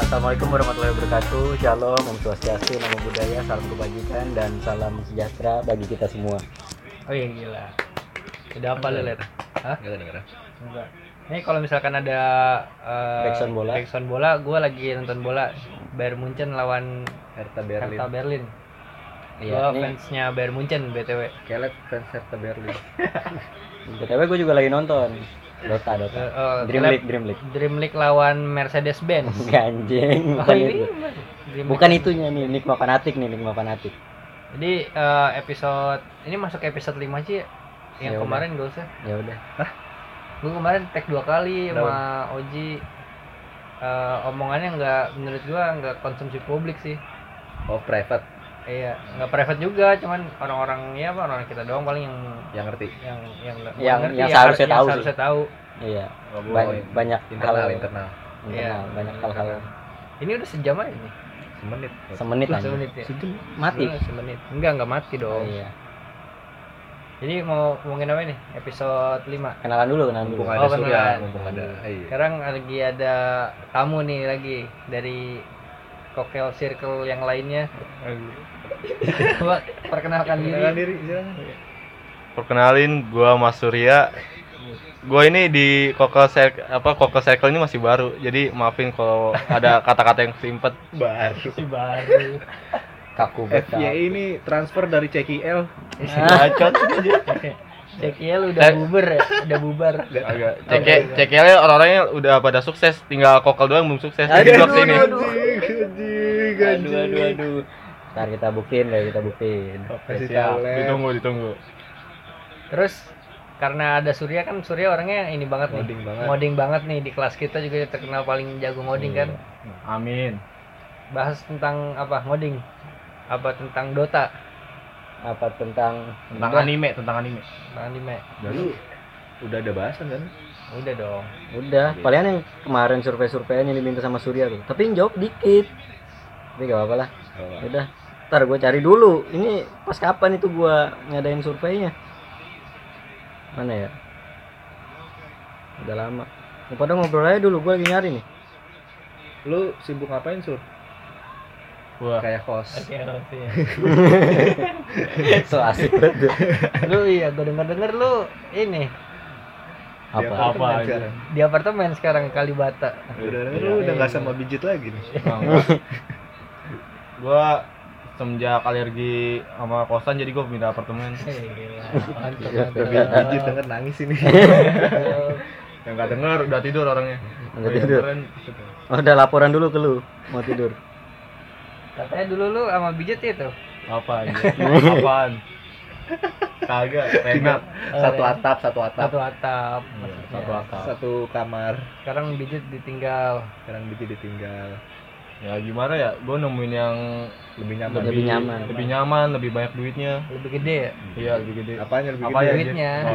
Assalamualaikum warahmatullahi wabarakatuh. Shalom, Om Swastiastu, Namo Buddhaya, salam kebajikan dan salam sejahtera bagi kita semua. Oh iya gila. Udah apa lu, Ler? Hah? Enggak denger. Enggak. Ini kalau misalkan ada Backsound bola, gue lagi nonton bola Bayern Munchen lawan Hertha Hertha Berlin. Iya, Gue fansnya Bayern Munchen BTW. Kelek fans Hertha Berlin. BTW gue juga lagi nonton Dota. Dream League lawan Mercedes-Benz. Ganjing, Oh, bukan ini itu. Dream Bukan League. itunya nih, Nikma Fanatik. Jadi episode ini masuk episode 5 sih. Yang Ya kemarin gak usah. Ya udah. Gue kemarin tag 2 kali sama Oji. Omongannya menurut gua nggak konsumsi publik sih. Oh, private Iya, nggak private juga, cuman orang kita doang paling yang ngerti. yang nggak Yang ngerti, seharusnya tahu sih. seharusnya tahu. Iya. Oh, Banyak internal. Iya. Banyak hal-hal. Ini udah sejam aja nih. Semenit. Semenit aja. Semenit ya. Mati. Semenit. Enggak mati Oh, dong. iya. Jadi mau ngomongin apa nih? Episode 5. Kenalan dulu. Mumpung Oh, ada Surya, beneran. mumpung ada. Iya. Sekarang lagi ada tamu nih lagi dari Cocktail Circle yang lainnya. Coba perkenalkan diri. Silakan. Perkenalin, gua Mas Surya. Gua ini di Cocktail Circle ini masih baru. Jadi maafin kalau ada kata-kata yang selimpet. Baru. Si baru. Kaku banget. FYI ini transfer dari CKL. Bacot. CKL udah bubar. Agak. CKL orang-orangnya udah pada sukses, tinggal Kokal doang belum sukses. Jadi blok sini. Aduh. Ntar kita buktiin. Kasih Siap, talent. ditunggu. Terus karena ada Surya kan, Surya orangnya ini banget nih. Ngoding banget nih, di kelas kita juga terkenal paling jago ngoding kan. Amin. Bahas tentang apa ngoding? Apa tentang Dota? Apa tentang Tentang anime. Tentang anime. Dulu udah ada bahasan kan? Udah dong. Udah, palingan yang kemarin survei-surveian yang diminta sama Surya tuh. Tapi yang jawab dikit. Tapi gak apa-apa lah. Udah, ntar gue cari dulu. Ini pas kapan itu gue ngadain surveinya? Mana ya? Udah lama. Pada ngobrol aja dulu, gue lagi nyari nih. Lu sibuk ngapain, Sur? Wah. Kayak host. So asik banget. Lu iya, gue denger lu ini Apa? Sekarang. di apartemen sekarang Kalibata. Lu udah enggak sama Bijit lagi nih. Gua semenjak alergi sama kosan jadi gua pindah apartemen. Gila. Mantap. Bijit denger nangis ini. Yang nggak dengar udah tidur orangnya. Udah tidur. Oh, udah laporan dulu ke lu, mau tidur. Katanya dulu lu sama Bijit itu. Apa aja? Apaan? Kagak, renat. Satu atap. Satu atap. Satu atap. Satu kamar. Sekarang Bijit ditinggal. Sekarang Bijit ditinggal. Ya gimana ya? Gue nemuin yang Lebih nyaman. Lebih nyaman. lebih banyak duitnya. Lebih gede ya? Iya, lebih gede. Apanya lebih Apa gede? ya? Duitnya. Oh,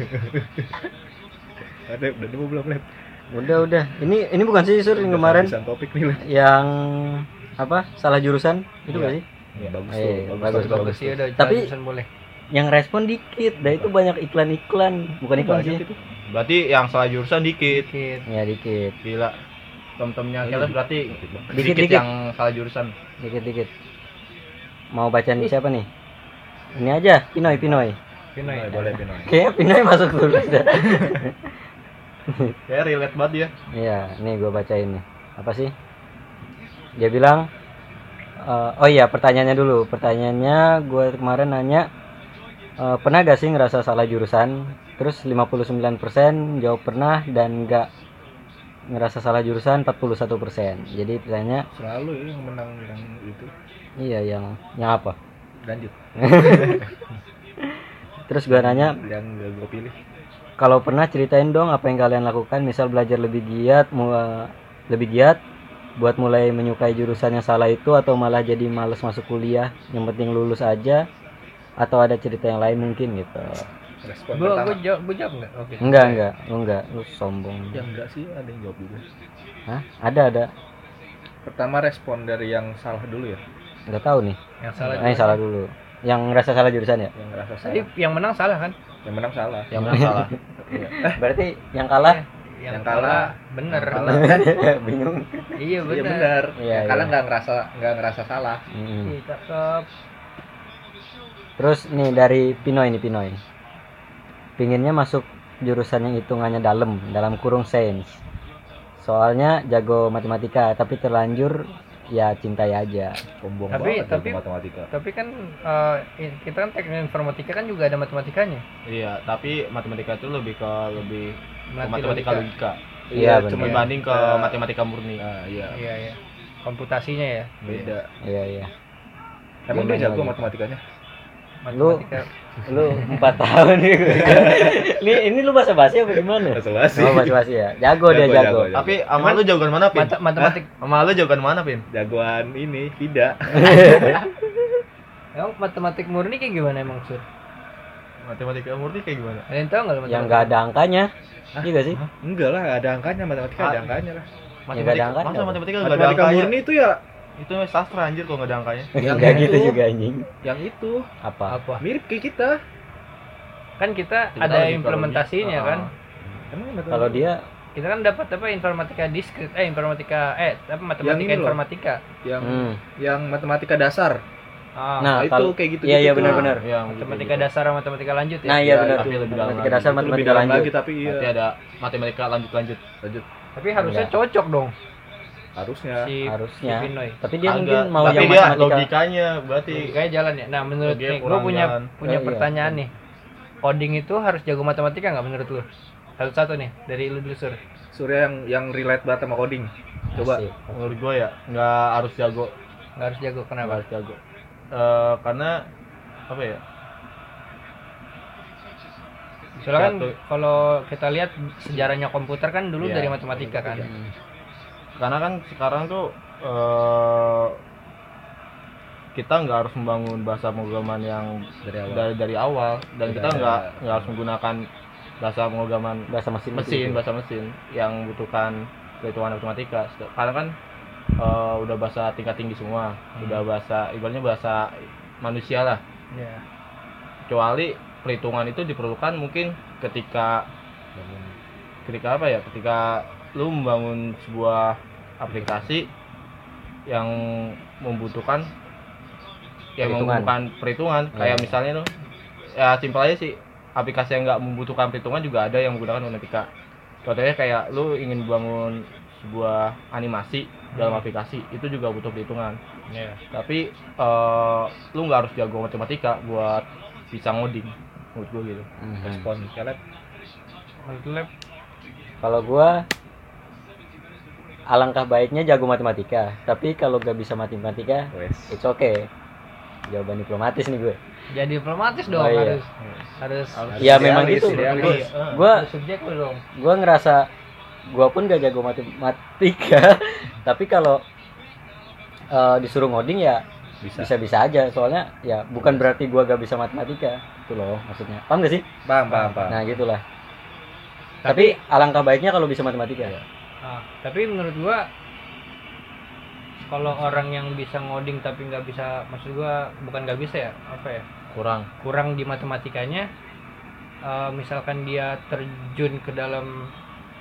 Ada udah nemu belum, Lep? Udah. Ini bukan sih Sur yang kemarin Kehabisan topik nih, Lep. yang apa? Salah jurusan itu Iya. gak sih? Bagus Iya, tuh. bagus. Sih udah. Tapi- jurusan boleh. Yang respon dikit, dah itu banyak iklan-iklan, bukan iklan Banyak sih. itu. berarti yang salah jurusan dikit. Dikit. Ya dikit. Gila. Tem-temnya Keles berarti Dikit. dikit yang salah jurusan. Dikit. Mau bacaan siapa nih? Ini aja, Pinoy. Pinoy. Boleh Pinoy. Kayaknya Pinoy masuk dulu dah. Ya relate banget dia. Iya, nih gue bacain nih. Apa sih? Dia bilang, oh iya pertanyaannya dulu. Pertanyaannya gue kemarin nanya, pernah gak sih ngerasa salah jurusan? Terus 59% jawab pernah dan gak ngerasa salah jurusan 41%. Jadi pertanyaannya, Selalu ya yang menang yang itu. iya yang apa? Lanjut. Terus gue nanya, Yang gak gue pilih. kalau pernah ceritain dong apa yang kalian lakukan, misal belajar lebih giat buat mulai menyukai jurusan yang salah itu, atau malah jadi males masuk kuliah, yang penting lulus aja, atau ada cerita yang lain mungkin gitu. Respon Gua pertama. jawab enggak? Oke. Enggak, lu sombong. Ya enggak sih, ada yang jawab juga. Hah? Ada. Pertama respon dari yang salah dulu ya. Enggak tahu nih. Yang salah. Yang salah dulu. Yang ngerasa salah jurusan ya? Yang ngerasa Tadi salah. yang menang salah kan? Yang menang salah. Yang menang salah. Iya. Berarti yang kalah Yang kalah bener. kalah kan Bingung. Iya iya bener. benar. Iya, Yang kalah iya. nggak ngerasa salah. Iya, cakep. Terus nih dari Pinoy. Pinginnya masuk jurusan yang hitungannya dalam kurung sains. Soalnya jago matematika, tapi terlanjur ya cintai aja. Sombong Tapi- banget tapi- jago matematika. Tapi kan kita kan teknik informatika kan juga ada matematikanya. Iya, tapi matematika itu lebih ke Melatih matematika logika Iya, benar. cuma dibanding ke kayak- matematika murni. Nah, iya. Iya ya. Komputasinya ya. Beda. Iya. Emang Gimana dia jago lagi? matematikanya? Matematika. Lu 4 tahun nih. ini lu basa-basi apa gimana? Basa-basi. Oh, basa-basi ya. Jago dia jago. Jago. Tapi sama lu jagoan mana, Pin? Matematik. Sama lu jagoan mana, Pin? Jagoan ini Vida. Emang matematik murni kayak gimana emang Sur? Matematika murni kayak gimana? Ada yang tahu nggak lu Yang matematika? enggak ada angkanya. Iya gak sih? Enggak lah, ada angkanya matematika ada Ah. angkanya lah. nggak ada angkanya Masa apa? matematika enggak ada Matematika angkanya? murni itu ya Itu sastra anjir kalau enggak ada angkanya. Yang Enggak gitu itu. juga anjing. yang itu Apa? Apa? mirip kayak kita. Kan kita Kita ada lebih ke implementasinya logika. kan. Emang Kalau dia Kita kan dapat apa informatika diskrit apa matematika ini loh. informatika. yang matematika dasar. Ah, Nah, itu kalau- kayak gitu. iya, iya, benar-benar. Yang matematika dasar sama matematika lanjut ya. Nah, iya Ya, benar. tapi lebih dalam Matematika lagi. dasar, Itu lebih matematika dalam lanjut. lagi tapi iya. Nanti ada matematika lanjut. Lanjut Tapi harusnya Enggak. cocok dong harusnya. Harusnya. si Pinoy. Tapi dia Agak. mungkin mau tapi yang dia matematika. logikanya berarti Kayak jalan ya. Nah, menurut Logikanya nih, gue kurang punya jalan. Iya. pertanyaan nih. Coding itu harus jago matematika nggak menurut lu? Satu-satu nih dari lu dulu Sur. Surya yang relate banget sama coding. Coba. Asik. menurut gue ya nggak harus jago. Nggak harus jago Nggak kenapa? harus jago. Karena apa ya? Soalnya kan Satu. kalau kita lihat sejarahnya komputer kan dulu Iya, dari matematika kan. Karena kan sekarang tuh kita nggak harus membangun bahasa pemrograman yang Dari awal. dari awal dan Tidak kita ada. nggak harus menggunakan bahasa pemrograman Bahasa mesin. bahasa mesin yang membutuhkan perhitungan matematika. Karena kan udah bahasa tingkat tinggi semua, udah bahasa ibaratnya bahasa manusia lah. Iya. Kecuali perhitungan itu diperlukan mungkin ketika apa ya? Ketika lu membangun sebuah aplikasi yang membutuhkan perhitungan kayak Iya. misalnya tuh ya simpel aja sih, aplikasi yang nggak membutuhkan perhitungan juga ada yang menggunakan matematika. Contohnya kayak lu ingin bangun sebuah animasi dalam aplikasi, itu juga butuh perhitungan. Iya. Tapi lu nggak harus jago matematika buat bisa ngoding, menurut gua gitu. Respon Caleb. Menurut lu, Lep? Kalau gua alangkah baiknya jago matematika, tapi kalau gak bisa matematika, Wes. it's okay. Jawaban diplomatis nih gue. Jadi diplomatis dong Oh, iya. harus Ya memang Idealis, gitu. idealis. Gua harus subjek lu dong. gua ngerasa gua pun gak jago matematika, tapi kalau disuruh ngoding ya Bisa. bisa-bisa aja. Soalnya ya bukan berarti gua gak bisa matematika. Itu loh maksudnya. Paham gak sih? Paham. Nah, gitulah. Tapi alangkah baiknya kalau bisa matematika. Tapi menurut gua kalau orang yang bisa ngoding tapi nggak bisa, maksud gua bukan nggak bisa ya, apa ya, kurang di matematikanya, misalkan dia terjun ke dalam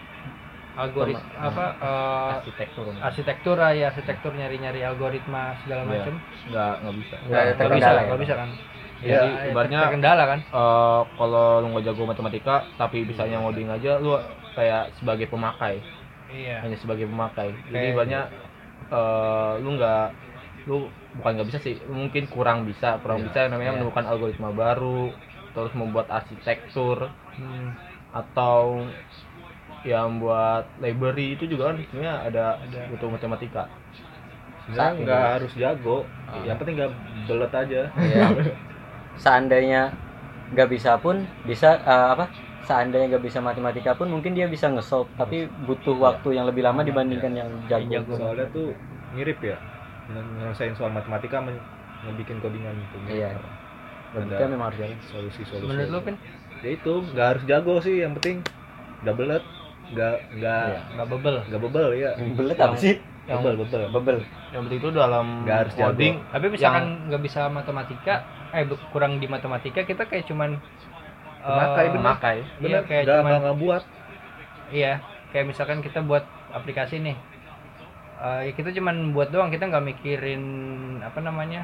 arsitektur nyari algoritma segala Iya. macam, Nggak bisa. nggak bisa kan. Jadi ibaratnya terkendala kan. kalau lu nggak jago matematika tapi bisanya ngoding aja, lu kayak sebagai pemakai, Iya. hanya sebagai pemakai. Jadi Kayak- ibaratnya lu bukan nggak bisa sih, mungkin kurang bisa yang namanya Iya. menemukan algoritma baru, terus membuat arsitektur Hmm. atau yang buat library itu juga kan sebenarnya ada butuh matematika. Sebenarnya nggak harus jago. Yang penting nggak belet aja. Iya. Seandainya nggak bisa pun bisa seandainya nggak bisa matematika pun mungkin dia bisa nge-solve, tapi butuh waktu yang lebih lama dibandingkan yang jago. Soalnya tuh mirip ya. Nyelesain soal matematika ngebikin codingan itu. Iya. Logika memang harus jago. Solusi-solusi. Menurut lu, Pin? Ya itu nggak harus jago sih, yang penting nggak belet, nggak Nggak bebel. ya. Belet apa sih? Bebel. Bebel. Yang penting itu dalam Nggak harus jago. coding Tapi misalkan nggak bisa matematika, kurang di matematika, kita kayak cuman Pemakai, bener. memakai. Iya, kayak nggak cuman ngebuat. iya, kayak misalkan kita buat aplikasi nih, ya kita cuman buat doang, kita nggak mikirin apa namanya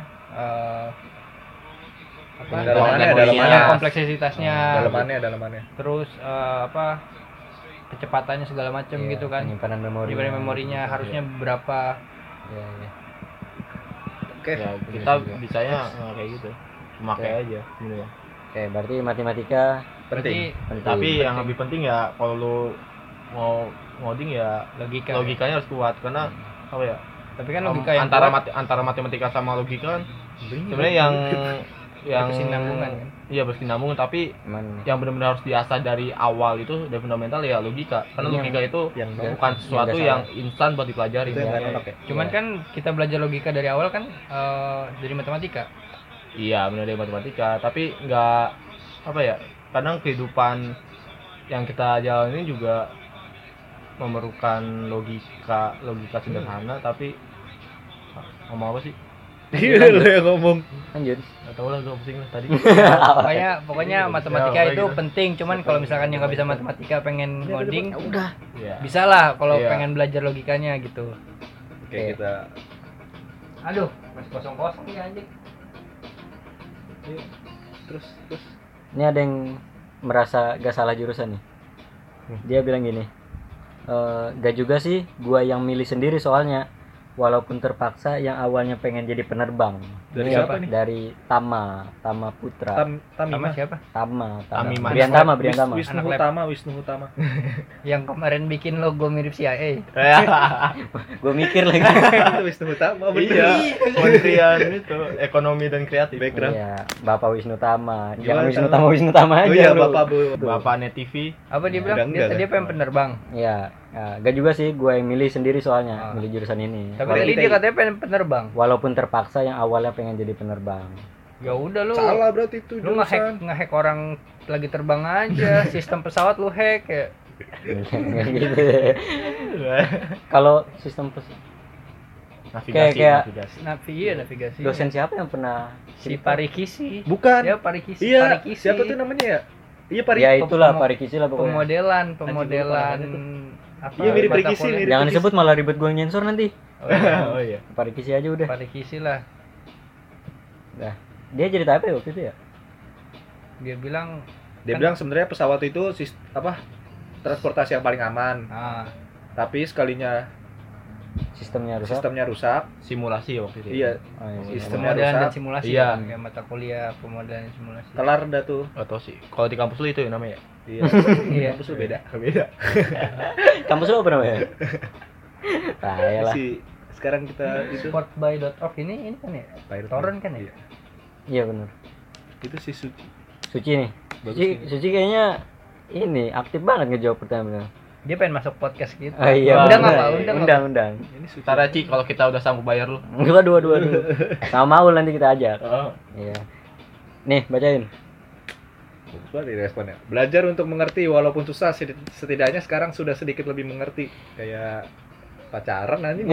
kompleksitasnya, dalamannya. Terus kecepatannya segala macam gitu kan. Penyimpanan Memorinya harusnya berapa. Ya. Oke. Ya, kita bisanya kayak gitu. Pakai aja gitu ya. Oke, berarti matematika Penting. penting. Tapi yang lebih penting ya kalau lu mau ngoding ya logikanya harus kuat karena apa ya? Tapi kan logika yang antara matematika sama logika kan sebenarnya yang berkesinambungan kan. Iya berkesinambungan, tapi yang benar-benar harus diasah dari awal itu dari fundamental ya logika. Karena logika itu bukan sesuatu yang instan buat dipelajari. Cuman kan kita belajar logika dari awal kan dari matematika. Iya benar dari matematika, tapi nggak apa ya? Kadang kehidupan yang kita jalani juga memerlukan logika sederhana, tapi ngomong apa sih? Iya lo yang ngomong. Lanjut. Gak tau lah, gue pusing lah tadi. Pokoknya matematika itu penting. Cuman kalau misalkan yang nggak bisa matematika pengen ngoding, udah. Bisa lah kalau pengen belajar logikanya gitu. Oke, kita. Aduh, masih kosong nih anjing. Terus. Ini ada yang merasa gak salah jurusan nih. Dia bilang gini, gak juga sih gua yang milih sendiri soalnya, walaupun terpaksa yang awalnya pengen jadi penerbang. Dari siapa nih? Dari Tama Putra. Tama siapa? Tama. Tami Brian Tama. Wisnu Utama. Yang kemarin bikin logo mirip CIA. Gue mikir lagi. Itu Wisnu Utama. Iya, Kementerian itu Ekonomi dan Kreatif. Background. Iya, Bapak Wisnu Tama. Jangan Wisnu Tama aja. Oh iya, lu. Bapak Net TV. Apa dia bilang? Dia pengen penerbang. Iya. Nah, gak juga sih, gue yang milih sendiri soalnya, milih jurusan ini. Tapi tadi dia katanya pengen penerbang. Walaupun terpaksa yang awalnya pengen jadi penerbang. Ya udah lu. Salah berarti itu lu nge-hack orang lagi terbang aja, sistem pesawat lu hack ya. Gitu. Kalau sistem navigasi. Dosen siapa yang pernah si Parikisi? Bukan. Ya Parikisi. Iya. Parikisi. Siapa tuh namanya ya? Iya Ya itulah Parikisi lah pokoknya. Pemodelan apa? Iya mirip Parikisi. Jangan disebut malah ribet gue nyensor nanti. Oh iya. Parikisi aja udah. Parikisi lah. Nah, dia jadi apa ya waktu itu ya? Dia bilang sebenarnya pesawat itu transportasi yang paling aman. Tapi sekalinya sistemnya rusak. Simulasi waktu itu. Iya. Sistemnya pemodelan dan rusak. simulasi. Iya. Kayak mata kuliah pemodelan dan simulasi. Kelar dah tuh. Atau sih. Kalau di kampus lu itu ya namanya. Iya. Kampus lu beda. Kampus lu apa namanya? Lah. Sekarang kita itu Sportby.org ini kan ya? Torrent kan ya? Iya benar. Itu si Suci nih. Suci kayaknya ini aktif banget ngejawab pertanyaan. Dia pengen masuk podcast gitu. Oh, iya. Undang. Ini Suci. Tara Ci kalau kita udah sanggup bayar lu. Enggak dua. Sama Maul nanti kita ajak. Oh. Iya. Nih, bacain. Coba responnya. Belajar untuk mengerti walaupun susah, setidaknya sekarang sudah sedikit lebih mengerti. Kayak pacaran nanti.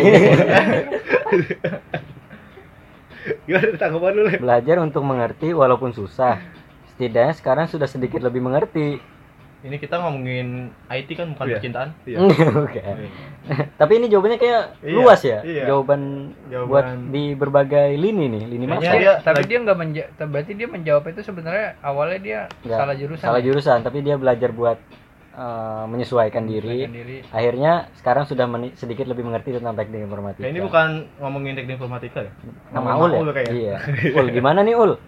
Gimana tanggapan lu? Belajar untuk mengerti walaupun susah, setidaknya sekarang sudah sedikit lebih mengerti. Ini kita ngomongin IT kan bukan percintaan. Iya. Oke. Tapi ini jawabannya kayak luas ya. Iya. Jawaban buat di berbagai lini masa. Tapi dia nggak berarti dia menjawab itu sebenarnya awalnya dia salah jurusan. Salah jurusan, tapi dia belajar buat menyesuaikan diri. Akhirnya sekarang sudah sedikit lebih mengerti tentang teknik informatika. Nah, ini bukan ngomongin teknik informatika ya? Nama Ul ya? Iya. Ul gimana nih Ul?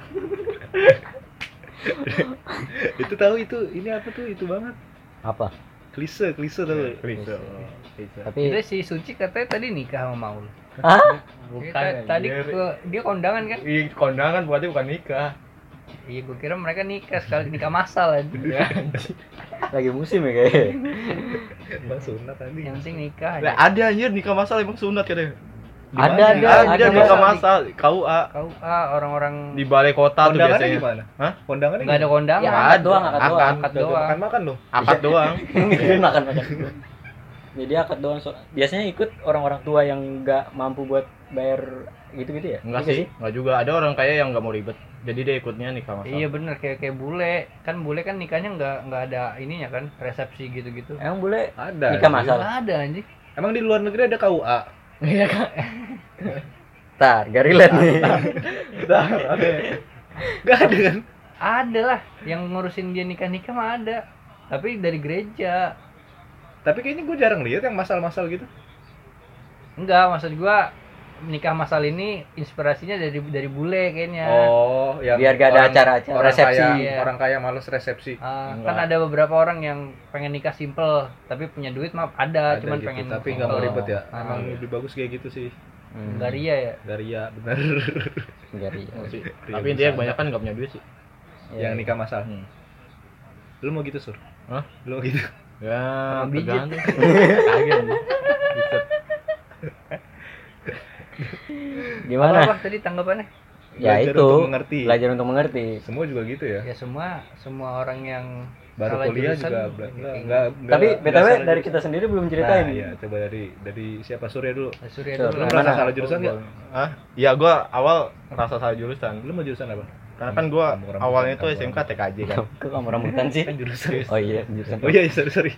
Itu tahu itu ini apa tuh itu banget. Apa? Klise tahu. Klise. Tapi itu si Suci katanya tadi nikah sama Maul. Hah? Bukan. Tadi dia kondangan kan? Iya, kondangan berarti bukan nikah. Iya, gue kira mereka nikah sekali nikah massal aja. Lagi musim ya kayaknya. Bang sunat tadi. Yang penting nikah. Nah, ada anjir nikah massal emang sunat katanya. Ada nikah massal KUA orang-orang di balai kota tuh biasanya. Gimana? Hah? Kondangannya enggak ada kondangan. Ya, akad doang. Makan loh. Akad doang. Makan. Jadi akad doang. Biasanya ikut orang-orang tua yang nggak mampu buat bayar gitu-gitu ya? Enggak Iya sih, enggak juga. Ada orang kaya yang nggak mau ribet. Jadi dia ikutnya nikah masal. Iya bener, kayak bule kan nikahnya nggak ada ininya kan, resepsi gitu-gitu. Emang boleh Ada. nikah anjing. masal? Nggak ada anjing. Emang di luar negeri ada KUA? Iya kan. Tar, gak relate nih. Bentar, ada. Enggak ada kan? Ada lah yang ngurusin dia nikah mah ada. Tapi dari gereja. Tapi kayaknya gue jarang lihat yang masal-masal gitu. Enggak, maksud gua nikah masal ini inspirasinya dari bule kayaknya. Oh, yang Biar gak ada acara-acara orang resepsi. kaya, Iya. orang kaya males resepsi. Kan ada beberapa orang yang pengen nikah simple, tapi punya duit mah ada cuman gitu, pengen tapi nggak mau simple. ribet ya. Emang iya. lebih bagus kayak gitu sih. Nggak ria ya. Garia bener. Enggak ria. Sih. Pria Tapi dia besar. kebanyakan nggak punya duit sih. Iya. Yang nikah masal. Lu mau gitu, Sur? Hah? Lu mau gitu? Ya, Sama biji. tergantung. Kaget. Buset. Gimana? Apa tadi tanggapannya? Ya Belajar itu. untuk mengerti. Belajar untuk mengerti. Semua juga gitu ya. Ya semua orang yang Baru salah kuliah jurusan, juga enggak. Tapi BTW salah dari jurusan. kita sendiri belum ceritain. Nah, iya, coba dari siapa Surya dulu. Surya Sur, dulu Lu lah. merasa Mana? salah jurusan enggak? Hah? Ya gua awal merasa salah jurusan. Lu mau jurusan apa? Karena kan gua Kamu rambutan, awalnya tuh kamu SMK TKJ kan. Kok kamu rambutan sih? Kan jurusan. Oh iya, jurusan. Oh iya, sorry.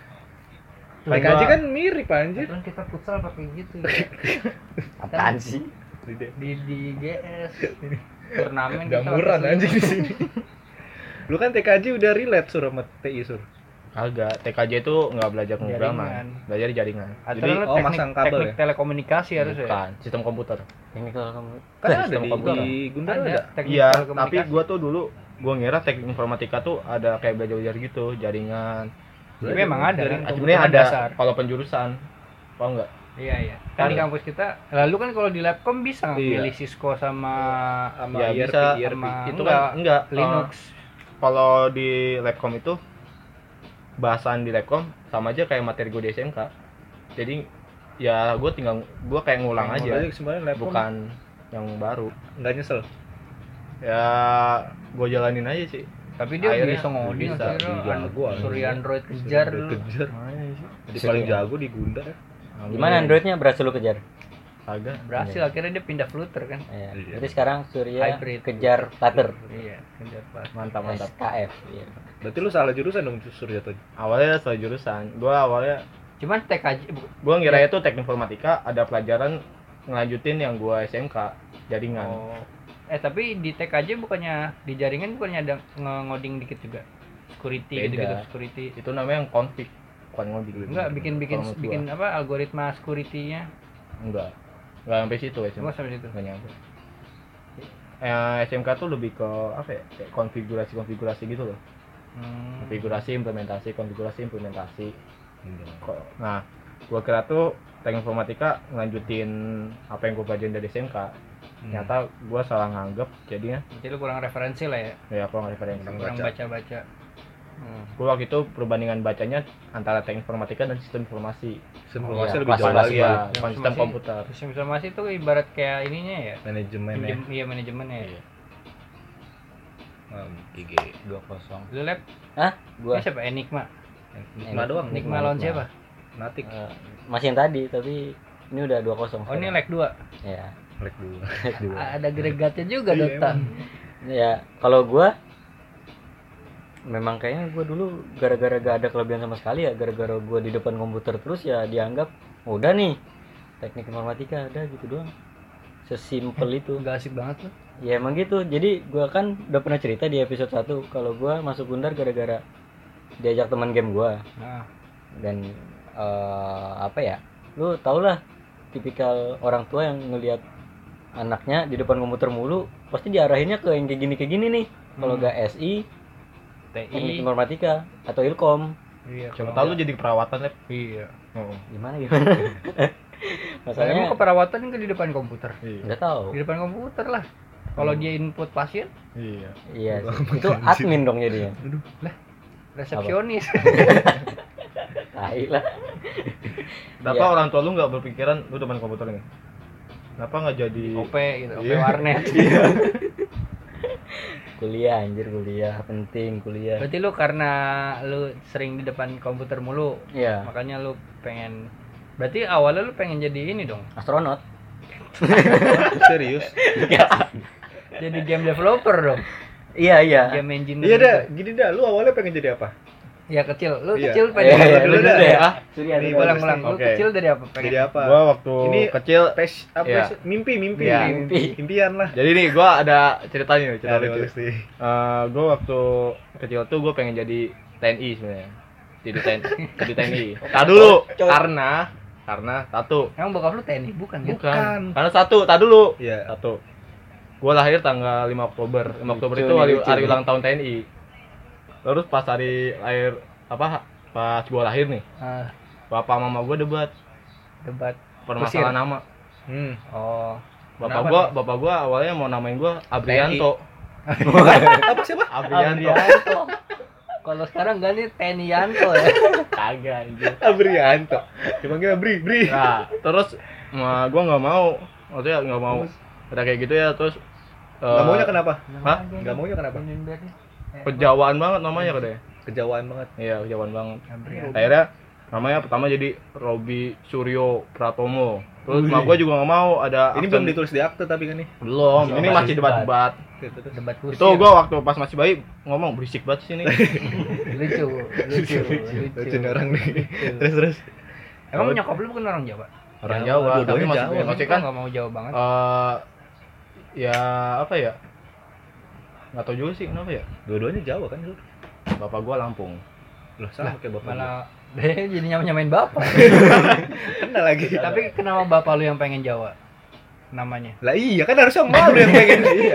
Kan PKJ gua- kan mirip anjir. Kan kita futsal pakai gitu ya. Apaan sih? di GS turnamen Udah kita murah pakai anjing di selimut. sini. Lu kan TKJ udah relate Sur sama TI Sur. Agak TKJ itu nggak belajar Jaringan. pemrograman, belajar di jaringan. Atau Jadi lu oh, masang kabel teknik ya? telekomunikasi harus ya. bukan sistem komputer. Ini kalau kamu Kan ada sistem di komputer. Gundar ada. teknik Iya, telekomunikasi. tapi gua tuh dulu gua ngira teknik informatika tuh ada kayak belajar gitu, jaringan. Tapi memang ada Dari- kan Sebenarnya komputer ada dasar. kalau penjurusan. Paham enggak? Iya iya. Kan di kampus kita, lalu kan kalau di Labcom bisa Iya. milih Cisco sama Sama Ya, IRP, bisa. IRP. sama Itu kan enggak Linux. kalau di Labcom itu bahasan di Labcom sama aja kayak materi gue di SMK. Jadi ya gue kayak ngulang aja, Sebenarnya laptop bukan yang baru. enggak nyesel. Ya gue jalanin aja sih. Tapi dia Akhirnya bisa ngoding bisa, akhirnya. jago, Surya anjing. Android kejar Udah dulu. kejar. Jadi Bisa paling juga. jago di Gundar ya. gimana Androidnya berhasil lu kejar? Agak. Berhasil akhirnya dia pindah Flutter kan. Iya. Iya. Jadi sekarang Surya Hybrid. kejar Flutter. Iya, kejar pas. Mantap mantap. SKF. Iya. Berarti lu salah jurusan dong Surya tadi. Awalnya salah jurusan. Gue awalnya Cuman TKJ gue ngira itu teknik informatika ada pelajaran ngelanjutin yang gue SMK jaringan. Oh. Tapi di TKJ bukannya di jaringan bukannya ada ngoding dikit juga. Security Beda. gitu-gitu, security. Itu namanya yang config, bukan ngoding. Enggak bikin Kalau menurut bikin gua. apa algoritma security-nya. Enggak sampai situ SMK. Enggak sampai situ. Nggak nyampe. SMK tuh lebih ke apa ya? Kayak konfigurasi gitu loh. Konfigurasi, implementasi, konfigurasi, implementasi. Nah, gua kira tuh teknik informatika ngelanjutin apa yang gua pelajarin dari SMK. Ternyata gua salah nganggep, jadinya Berarti lu kurang referensi lah ya. ya kurang referensi. Kurang Baca. baca-baca. Gua waktu itu perbandingan bacanya antara teknik informatika dan sistem informasi. Informasi iya, lebih jauh kelas lagi ya, ya. bukan sistem Informasi- komputer. Sistem informasi itu ibarat kayak ininya ya. Manajemen ya. Iya manajemennya. Iya. GG 2-0. Lu lab Hah? Gua ini siapa? Enigma. Nikma doang. Enigma lawan siapa? Natik. masih yang tadi tapi ini udah 2-0. Oh ini leg 2. Ya. Lek dulu. Ada agregatnya juga Iya, Dota. emang. Ya, kalau gua memang kayaknya gua dulu gara-gara gak ada kelebihan sama sekali ya, gara-gara gua di depan komputer terus ya dianggap udah nih teknik informatika ada gitu doang. Sesimpel itu. Gak asik banget lu. Ya emang gitu. Jadi gua kan udah pernah cerita di episode 1 kalau gua masuk Gundar gara-gara diajak teman game gua. Nah, Dan apa ya? Lu tau lah tipikal orang tua yang ngelihat anaknya di depan komputer mulu pasti diarahinnya ke yang kayak gini nih. Kalau gak SI, teknik TI. informatika atau Ilkom. Iya. Coba kalau tahu lu enggak- jadi perawatan, Lep. Iya. Gimana? Emang Masalahnya keperawatan kan di depan komputer. nggak tahu. Di depan komputer lah. Kalau dia input pasien, Iya. Iya, itu admin dong jadinya. resepsionis. Tai lah. Kenapa Iya. orang tua lu nggak berpikiran lu depan komputer ini? Kenapa nggak jadi OP gitu, OP Iya. warnet. Kuliah anjir, kuliah penting kuliah. Berarti lu karena lu sering di depan komputer mulu, Iya, makanya lu pengen. Berarti awalnya lu pengen jadi ini dong. astronot. Serius? Jadi game developer dong. Iya iya. Game engineer. Iya dah, gitu. gini dah. Lu awalnya pengen jadi apa? Ya kecil. Lu Iya. kecil pengen Iya, jadi dulu apa? dah. ya. Surya. Nih, Surya. Ulang. Lu Oke. kecil dari apa? Pengen Jadi apa? Gua waktu Ini kecil apa Iya. sih? Mimpi. Iya. Impian lah. jadi nih gua ada ceritanya nih, cerita Ada lucu. bagus nih. Gue waktu kecil tuh gue pengen jadi TNI sebenarnya. Jadi TNI. Tar dulu. Karena satu. Emang bokap lu TNI bukan ya? Bukan. Karena satu. Tar dulu. Iya. Satu. Gue lahir tanggal 5 Oktober. 5 Oktober Lucu itu nih, hari, lucu hari nih. ulang tahun TNI. Terus pas hari lahir pas gue lahir nih, Ah, bapak mama gue debat debat. permasalahan nama. Oh. Bapak gua awalnya mau namain gua Abrianto. Apa siapa? Abrianto. Abrianto. Kalau sekarang enggak nih Tenianto ya. Kagak anjir. Abrianto. Dipanggil Bri. Nah, terus gua nggak mau. Maksudnya nggak mau. Ada kayak gitu ya, terus Gak maunya kenapa? Hah? Gak maunya kenapa? Kejawaan banget namanya katanya. Kejauhan banget. Iya, kejawaan banget. Abrianto. Akhirnya namanya pertama jadi Robi Suryo Pratomo. Terus mak gua juga nggak mau ada Ini aksen- belum ditulis di akte tapi kan nih. Belum. Ini Masih masih debat-debat. Debat kursi. Itu gua waktu pas masih bayi ngomong berisik banget sih ini. lucu. Lucu nih orang nih. Terus. Emang nyokap lu bukan orang Jawa? Orang Jawa, Jawa, tapi dua-duanya masih Jawa. maksudnya Kan kan enggak mau Jawa banget. ya apa ya, nggak tahu juga sih kenapa ya. Dua-duanya Jawa kan lu? Bapak gua Lampung. Loh sama kayak bapak. Malah deh jadi nyamain bapak. Kenal lagi. Tapi kenapa bapak lu yang pengen Jawa? Namanya. Lah iya kan harusnya malu yang pengen. Iya.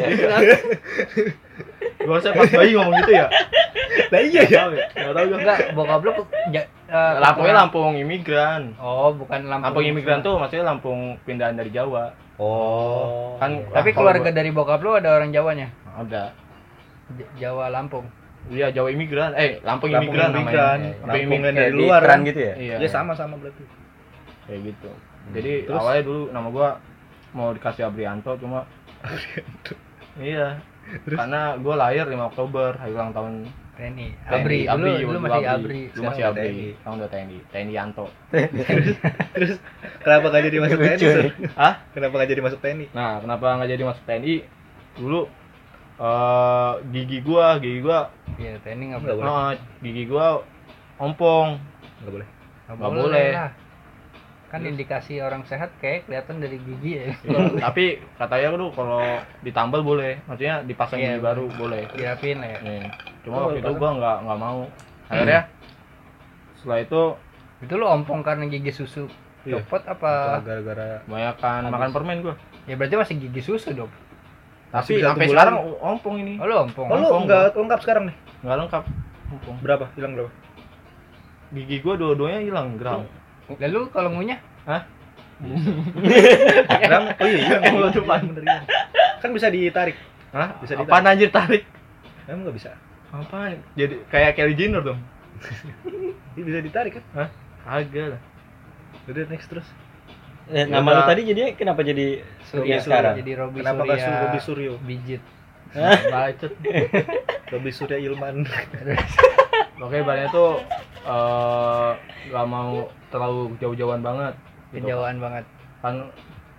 Gua harusnya pas bayi ngomong gitu ya. Lah iya ya. Nggak tahu gua. Enggak, bokap lu Lampungnya Lampung imigran. Oh, bukan Lampung. Lampung imigran tuh maksudnya Lampung pindahan dari Jawa. Oh. Kan Tapi keluarga dari bokap lu ada orang Jawanya? ada. Jawa Lampung. Iya, Jawa imigran. Lampung Lampung imigran imigran. namanya. Lampung yang Kayak dari di luar iklan kan? gitu ya. Iya. Ya sama-sama berarti. Kayak gitu. Jadi Terus? awalnya dulu nama gua mau dikasih Abrianto cuma iya. Karena gua lahir 5 Oktober, hari ulang tahun TNI. TNI. Abri. Lu masih Abri. Lu masih Sekarang udah Abri. TNI. Sekarang udah TNI. TNI Yanto. Terus kenapa gak jadi masuk TNI? Lucu, Sur? ya. Hah? Kenapa gak jadi masuk TNI? Nah, kenapa nggak jadi masuk TNI? Dulu gigi gua Iya, TNI enggak Nggak boleh. boleh. gigi gua ompong. Enggak boleh. Nggak boleh. lah. Kan indikasi orang sehat kayak kelihatan dari gigi ya. Tapi katanya tuh kalau ditambal boleh. Maksudnya dipasang Iya, gigi baru boleh. Dirapin lah ya. Nih. Cuma Oh, waktu itu pasang. gua nggak mau. Akhirnya setelah itu Itu lu ompong karena gigi susu Iya. copot apa? Gara-gara kebanyakan makan permen gua. Ya berarti masih gigi susu dong. Tapi bisa sampai satu sekarang bulan. ompong ini. Oh lu ompong. Oh lu Ompong, enggak lengkap sekarang nih? Nggak lengkap. Ompong. Berapa? Hilang berapa? Gigi gua dua-duanya hilang gram. Lalu kalau ngunyah? Hah? Hilang? Oh iya, hilang. Yang depan. Bener, hilang. Kan bisa ditarik. Hah? Bisa ditarik. Apaan anjir tarik? Emang enggak bisa? Apaan? Jadi kayak Kylie Jenner dong. Ini bisa ditarik kan? Hah? Agak lah. Udah next terus. Nama lu tadi jadinya kenapa jadi Surya sekarang? Jadi Robi Kenapa Surya. enggak Robi Suryo? Bijit. Bacot. Robi Surya Ilman. Oke, bahannya tuh gak mau terlalu jauh-jauhan banget. Gitu. Kejauhan banget. Kan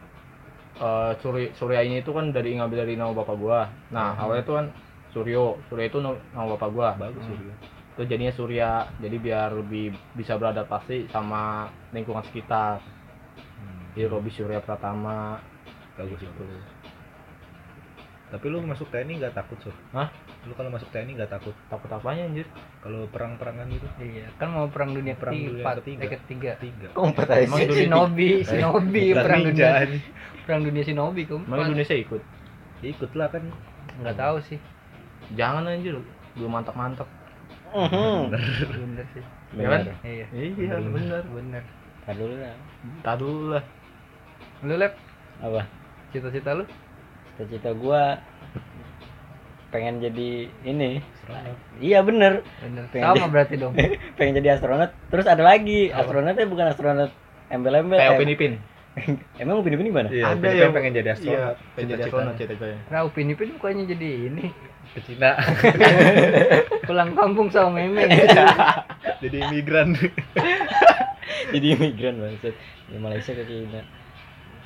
Surya ini tuh kan ngambil dari nama bapak gua. Nah, awalnya tuh kan Suryo itu nama bapak gua. Bagus Suryo. Itu jadinya Surya. Jadi biar lebih bisa beradaptasi sama lingkungan sekitar. Jadi Robi Surya Pratama. Bagus itu. Tapi lu masuk TNI enggak takut, Sur? Hah? Lu kalau masuk TNI enggak takut? Takut apanya anjir? Kalau perang-perangan gitu? Iya, kan mau perang dunia Perang dunia ketiga. ketiga. Tiga. Kompat aja Emang sih. Indonesia- Shinobi, Perang perang ninja dunia. nih. Perang dunia Shinobi Emang keempat. Indonesia ikut? Ikut lah kan. Enggak tahu sih. Jangan anjir, belum mantap-mantap. Bener sih. Ya kan? Iya. Iya, bener. Bener. Tar dulu lah. Tak dulu lah. Lu Lep, Apa? cita-cita lu? Cita-cita gua pengen jadi ini. Iya bener. Bener. Pengen Sama jadi- berarti dong. Pengen jadi astronot. Terus ada lagi. Astronotnya bukan astronot embel-embel. Kayak Upin Ipin. Emang Upin Ipin gimana? Iya, Ada Upin Ipin yang- pengen jadi Iya, astronot. pengen jadi astronot cita-citanya. Nah, Upin Ipin bukannya jadi ini. Ke Cina. Pulang kampung sama Memeng. Jadi imigran. Jadi imigran maksud. Di Malaysia ke Cina.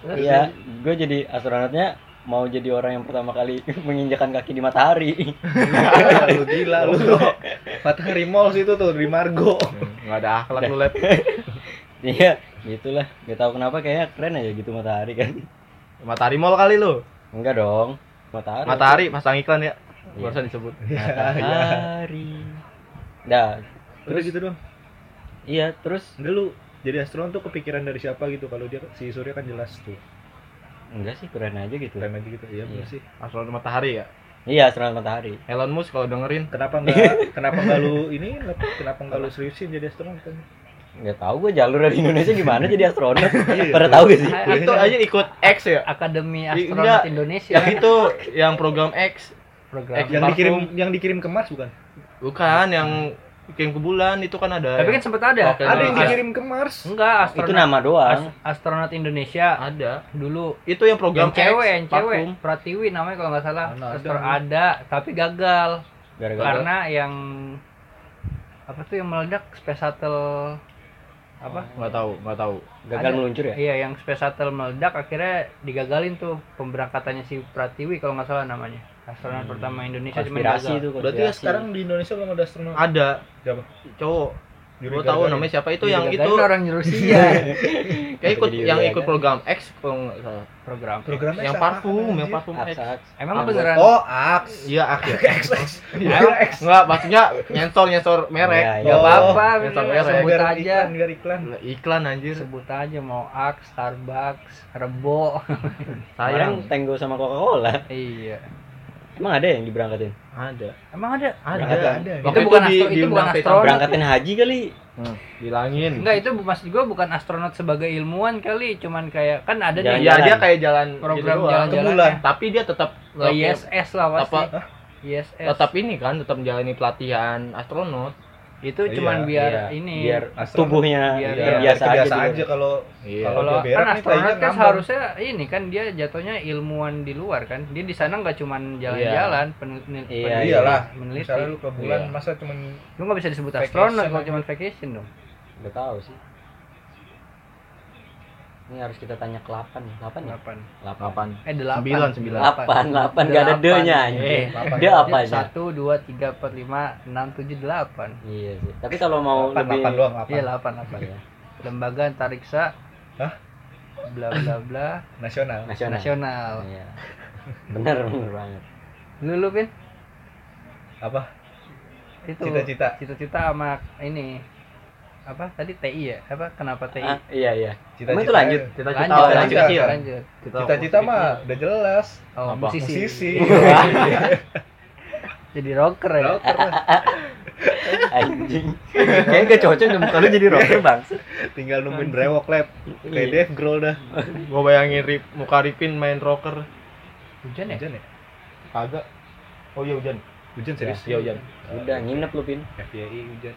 Iya, gue jadi astronotnya mau jadi orang yang pertama kali menginjakan kaki di matahari. Lu gila lu. Matahari Malls itu tuh di Margo. Nggak ada akhlak lu, Lep. Iya, gitulah. Gak tahu kenapa kayaknya keren aja gitu matahari kan. Matahari Mall kali lu. Enggak dong. Matahari. Matahari pasang iklan ya. Iya. Barusan disebut. Matahari. Dah, Terus gitu dong. iya, terus Enggak lu jadi astronot tuh kepikiran dari siapa gitu? Kalau dia si Surya kan jelas tuh. enggak sih, keren aja gitu. Keren aja gitu. Iya bener Iya. sih. Astronot matahari ya. Iya, astronot matahari. Elon Musk kalau dengerin. Kenapa enggak lu ini kenapa enggak lu seriusin jadi astronot kan? Enggak tahu gue jalur dari Indonesia gimana jadi astronot. Pada tahu gak sih? Itu aja ikut X ya. Akademi Enggak. Astronot Indonesia. Yang itu yang program X. program. Yang dikirim ke Mars bukan? Bukan yang kirim ke bulan itu kan ada. Tapi kan sempat ada. Oke, Ada yang Iya. dikirim ke Mars. Enggak, Itu nama doang. Astronot Indonesia ada. dulu. Itu yang program Yang cewek, Parfum. Pratiwi namanya kalau nggak salah. Mana ada. Ada, tapi gagal. Gara-gara Karena yang apa tuh yang meledak Space Shuttle apa? Nggak tahu. gagal ada. meluncur ya? Iya, yang Space Shuttle meledak akhirnya digagalin tuh pemberangkatannya si Pratiwi kalau nggak salah namanya. Astronot pertama Indonesia cuma Konspirasi gagal. itu. Berarti ya sekarang di Indonesia belum ada astronot. Ada Siapa? cowok. Yuri Gua tahu Gagarin. namanya siapa itu Digagalin yang itu orang Rusia. kayak ikut Jadi yang Yuri ikut Gagarin. program X kalau nggak salah. Program. Programnya Yang siapa? parfum X. Aks. Emang Anggot. beneran? Oh, Aks. Iya, X ya. XX. Enggak, maksudnya nyensor merek. Iya, iya. Nggak apa-apa, Nyensor bener. merek. Sebut Biar aja. Biar iklan. Iklan anjir. Sebut aja mau Axe, Starbucks, Rebo. Sayang Sayang. Tango sama Coca-Cola. Iya. Emang ada yang diberangkatin? Ada. Emang ada? Ada. Waktu Itu bukan di- itu bukan diundang Peta astronot. Berangkatin haji kali. Bilangin. Enggak, itu maksud gua bukan astronot sebagai ilmuwan kali, cuman kayak kan ada Jalan- nih Iya, dia kayak jalan program gitu doang. jalan-jalan. Ke bulan. Tapi dia tetap ISS lah pasti. Apa? ISS. tetap ini kan, tetap menjalani pelatihan astronot. Itu Iya, cuman biar Iya, ini biar Astronot. tubuhnya Biar- terbiasa aja. Biasa di aja kalau Iya. Kalau kalau dia berak kan nih, astronot kayaknya kan ngambang. seharusnya ini kan dia jatuhnya ilmuwan di luar kan. Dia di sana nggak cuman jalan-jalan, Iya, iyalah. meneliti. Misalnya lu ke bulan Iya. masa cuman Lu nggak bisa disebut Vacation astronot kalau aja. cuman vacation dong. Udah tahu sih. Ini harus kita tanya ke 8 nih. 8 ya? 8. 8. 8. 9. 8 enggak ada D-nya anjing. Dia apa aja? 1 2 3 4 5 6 7 8. Iya sih. Tapi kalau mau 8 lebih doang, 8. Iya 8. Iya. Lembaga antariksa. Hah? Bla bla bla. Nasional. Nasional. Iya. Bener banget. Lu Pin? Apa? Itu Cita-cita. Cita-cita sama ini apa tadi TI ya? Apa kenapa TI? Ah, iya. Cita-cita. Emang itu lanjut? Cita-cita Lanjut, lanjut, lanjut, kecil. lanjut. Cita-cita mah udah jelas. Oh, Apa? musisi. Musisi. Jadi rocker ya. Rocker lah. Anjing. Kayaknya gak cocok deh muka lu jadi rocker, Bang. Tinggal nungguin brewok lab. Kayak Iya. Dave Grohl dah. Gua bayangin muka Ripin main rocker. Hujan ya? Hujan ya? Kagak. Oh iya hujan. Hujan serius? Iya hujan. Udah nginep lu, Pin. FYI hujan.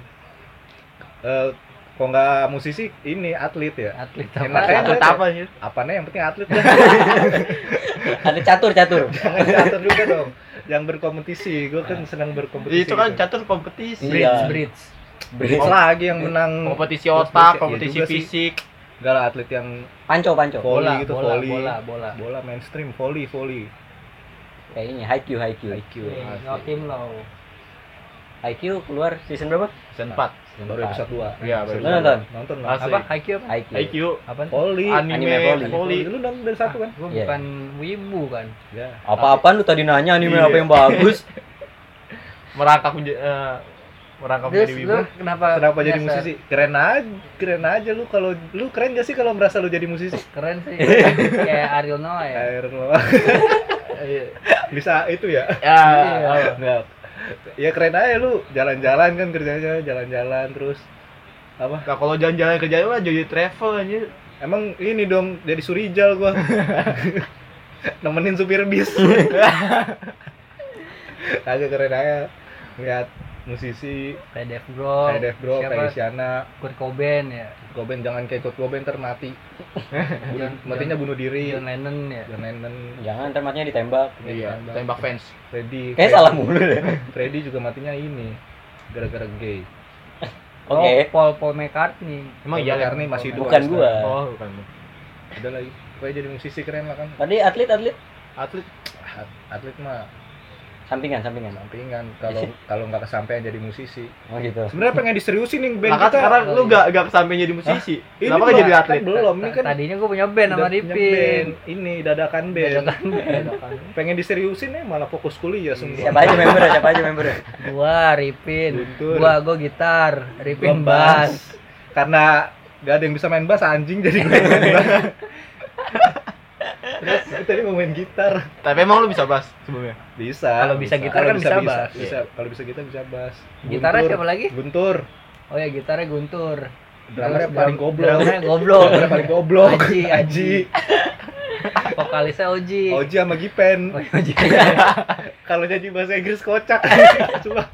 Kok nggak musisi ini atlet ya? Atlet Enak apa? aja. Atlet apa sih? Apanya yang penting atlet dah. Ada catur. Jangan catur juga dong. Yang berkompetisi, gue kan senang berkompetisi. Itu kan gitu. catur kompetisi. Iya. Bridge. Bridge lagi yang menang Kompetisi otak, Iya kompetisi juga sih. fisik. Enggak lah, atlet yang Panco. volley Bola, gitu, bola, volley. bola. Bola mainstream, volley. Kayak ini high Q. Joakim Low. High Q keluar season berapa? Season 4. Baru episode 2. Iya, baru Lu nonton? Nonton lah. Asik. Apa? IQ apa? High Q. IQ, Apa? Volley. Anime volley. volley. Lu nonton dari satu kan? Gue Iya. bukan wibu kan. Ya. Apa-apaan lu tadi nanya anime Iya. apa yang bagus? merangkap Terus menjadi wibu. lu kenapa jadi nyasar? musisi? Keren aja lu kalau lu keren gak sih kalau merasa lu jadi musisi? Keren sih. Kayak Ariel Noah ya. Air lo. Bisa itu ya? Ya, Iya. Enggak. Ya keren aja lu, jalan-jalan kan kerjanya, jalan-jalan terus apa? nah, kalau jalan-jalan kerja mah jadi travel aja. Emang ini dong jadi Surijal gua. Nemenin supir bis. Agak keren aja lihat musisi Kayak Dave Grohl. kayak Dave Grohl, Siapa? kayak Isyana, Kurt Cobain ya. Cobain jangan kayak Kurt Cobain ntar mati. Matinya bunuh diri. John Lennon ya. John Lennon, Jangan ntar matinya ditembak. Iya, tembak fans. Freddy. Kayak salah mulu deh. Freddy juga matinya ini gara-gara gay. Oke. Oh, Paul McCartney. Emang iya McCartney masih hidup. Bukan sampai gua. sekarang. Oh, bukan. Udah lagi. Pokoknya jadi musisi keren lah kan. Tadi atlet Atlet Atlet mah sampingan. sampingan. Kalau nggak kesampaian jadi musisi. Oh gitu. Sebenarnya pengen diseriusin nih band nah, kan kita. sekarang lu gak kesampe jadi musisi. Ini Kenapa gak jadi atlet? Kan belum, ini kan Tadinya gue punya band sama udah punya Ripin. band. Ini dadakan band. Dadakan band. Pengen diseriusin malah fokus kuliah semua. Siapa aja membernya? Gua Ripin. Guntur. Gua gitar, Ripin Gua bass. Karena nggak ada yang bisa main bass anjing jadi gue main bass. Terus tadi mau main gitar. Tapi emang lu bisa bass sebelumnya? Bisa. Kalau bisa gitar kan bisa bass. Bisa. Kalau bisa gitar bisa bass. Gitarnya Guntur. siapa lagi? Guntur. Oh ya, gitarnya Guntur. Drummernya Terus paling goblok. Drummernya goblok. Drummernya paling goblok. Aji. Vokalisnya Oji. Oji sama Gipen. Oh, Oji. Kalau jadi bahasa Inggris kocak. Cuma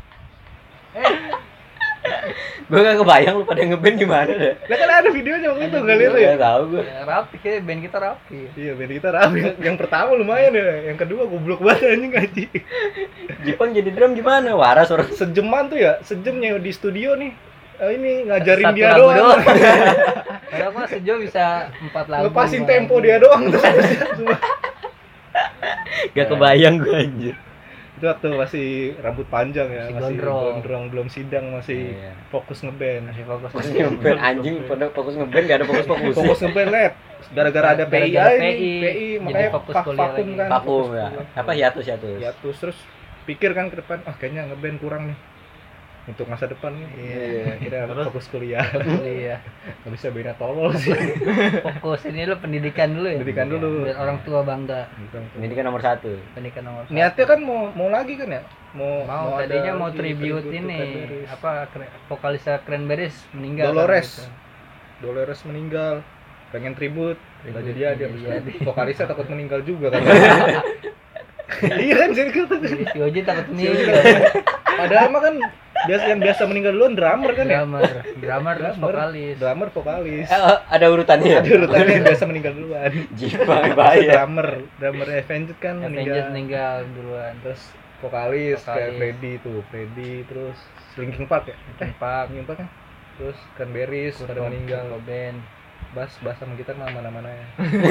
Gue gak kebayang lu pada ngeband gimana deh. lah kan ada videonya waktu itu enggak lihat lu ya? Gak tahu gue. Ya, rapi kayak band kita rapi. Iya, band kita rapi. Yang pertama lumayan ya, yang kedua goblok banget anjing anjing. Jepang jadi drum gimana? Waras orang. Sejaman tuh ya, sejamnya di studio nih. Ini ngajarin Satu dia lagu doang. Kenapa sejauh bisa 4 lagu? Lepasin tempo dia doang terus. Cuma Gak kebayang gue anjir. itu waktu masih rambut panjang ya, Masih masih gondrong, belum sidang, masih Iya. fokus ngeband. Masih fokus Fokus ngeband anjing, pada fokus ngeband gak ada fokus. Fokus ngeband lab. Gara-gara ada PI Gara-gara aja PI, nih, PI jadi makanya fokus kuliah vakum lagi. kan. Vakum Fokus ya. kuliah. Apa hiatus. Ya terus pikir kan ke depan, kayaknya ngeband kurang nih untuk masa depan nih. Iya, kira Terus? fokus kuliah. Iya. Gak bisa beda tolol sih. Fokus ini lu pendidikan dulu ya. Pendidikan dulu. Biar orang tua bangga. Ini kan nomor 1. Pendidikan nomor satu. Niatnya kan mau lagi kan ya? mau ada tadinya mau lagi tribute to ini Cranberries. apa vokalisnya Cranberries meninggal Dolores. kan, Dolores meninggal, pengen tribut, nggak jadi ada. Jadi. Vokalisnya takut meninggal juga kan. Iya kan jadi gitu. gitu. Si Oji takut meninggal. Padahal mah kan biasa meninggal duluan drummer kan ya. drummer terus vokalis. Drummer vokalis. Ada urutannya. Ada urutannya yang biasa meninggal duluan. Jepang bahaya. Drummer Avenged kan Avenged meninggal. meninggal duluan. Terus vokalis kayak Vokalis. Freddy terus Linkin Park ya. Pak Linkin Park kan. Terus Cranberries pada meninggal. band. Bass sama gitar mah mana-mana ya.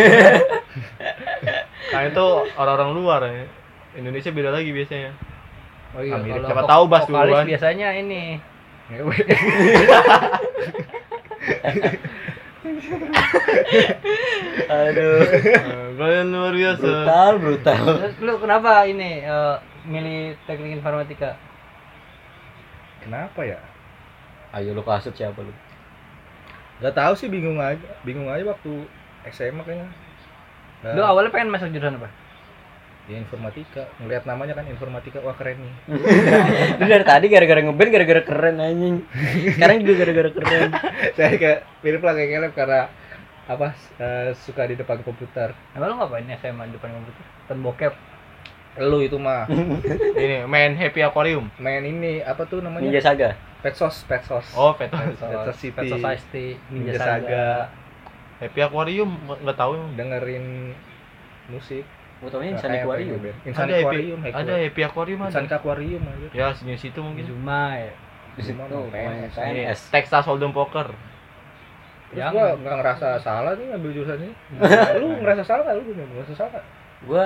Nah itu orang-orang luar ya. Indonesia beda lagi biasanya. Oh iya, Amerika. kalau Siapa tahu bass vokalis duluan. biasanya ini Ngewe. Aduh. Kalian luar biasa. Brutal. terus lu kenapa ini milih teknik informatika? Kenapa ya? Ayo lu kasut siapa lu? Gak tahu sih, bingung aja waktu SMA kayaknya. Nah, Lu awalnya pengen masuk jurusan apa? ya informatika, ngelihat namanya kan informatika, wah keren nih. Lu dari tadi gara-gara ngeband gara-gara keren anjing. Sekarang juga gara-gara keren. Saya kayak mirip lah kayak Caleb karena apa suka di depan komputer. Emang lu ngapain SMA di depan komputer? Nonton bokep. Lu itu mah Ini main Happy Aquarium. main ini apa tuh namanya? Ninja Saga. Petsos. Oh, Pet. Petsos City. Pet Society, Ninja Saga. Happy Aquarium nggak tahu emang. Dengerin musik. Gua taunya Nah, Insan kayak Aquarium. apa ya, Insan Ada Happy, Aquarium. ada Happy Aquarium Insan ada. Aquarium aja. Ya, sejenis situ mungkin. Zuma ya. Di situ Gimana, PNS. Ini PNS. Texas Hold'em Poker. Terus Yang- gua nggak ngerasa salah nih ngambil jurusan ini. Lu ngerasa salah nggak? Lu ngerasa salah nggak? Gua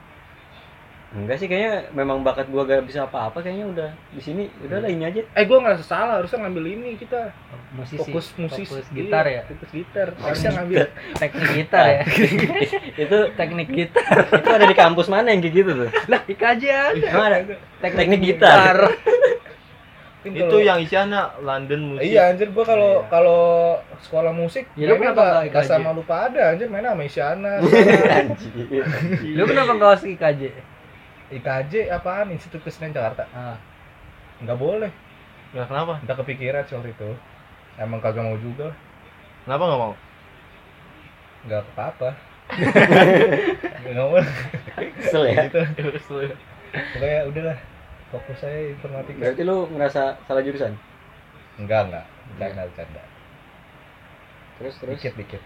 enggak sih, kayaknya memang bakat gua gak bisa apa-apa, kayaknya udah di sini udah lah ini aja. Gua ngerasa salah, harusnya ngambil ini kita. Musisi. Fokus musisi. Fokus gitar ya. Fokus gitar. Harusnya ngambil. Teknik gitar ya. Itu Teknik gitar. itu ada di kampus mana yang kayak gitu tuh? Lah, IKJ aja. Emang ada teknik gitar. Itu yang isinya London Music. Iya anjir, gua kalau sekolah musik Ya, lu mainnya kenapa nggak nggak IKJ? sama lupa ada anjir, mainnya sama Isyana. Anjir. Lu kenapa enggak masuk IKJ? IKJ apaan? Institut Kesenian Jakarta. Ah, Nggak boleh. Ya, kenapa? Udah kepikiran sih waktu itu. Emang kagak mau juga. Kenapa nggak mau? Nggak apa-apa. Nggak mau. Kesel ya. Gitu. Pokoknya udahlah. Fokus saya informatika. Berarti lu ngerasa salah jurusan? Enggak. Bercanda. Terus Dikit.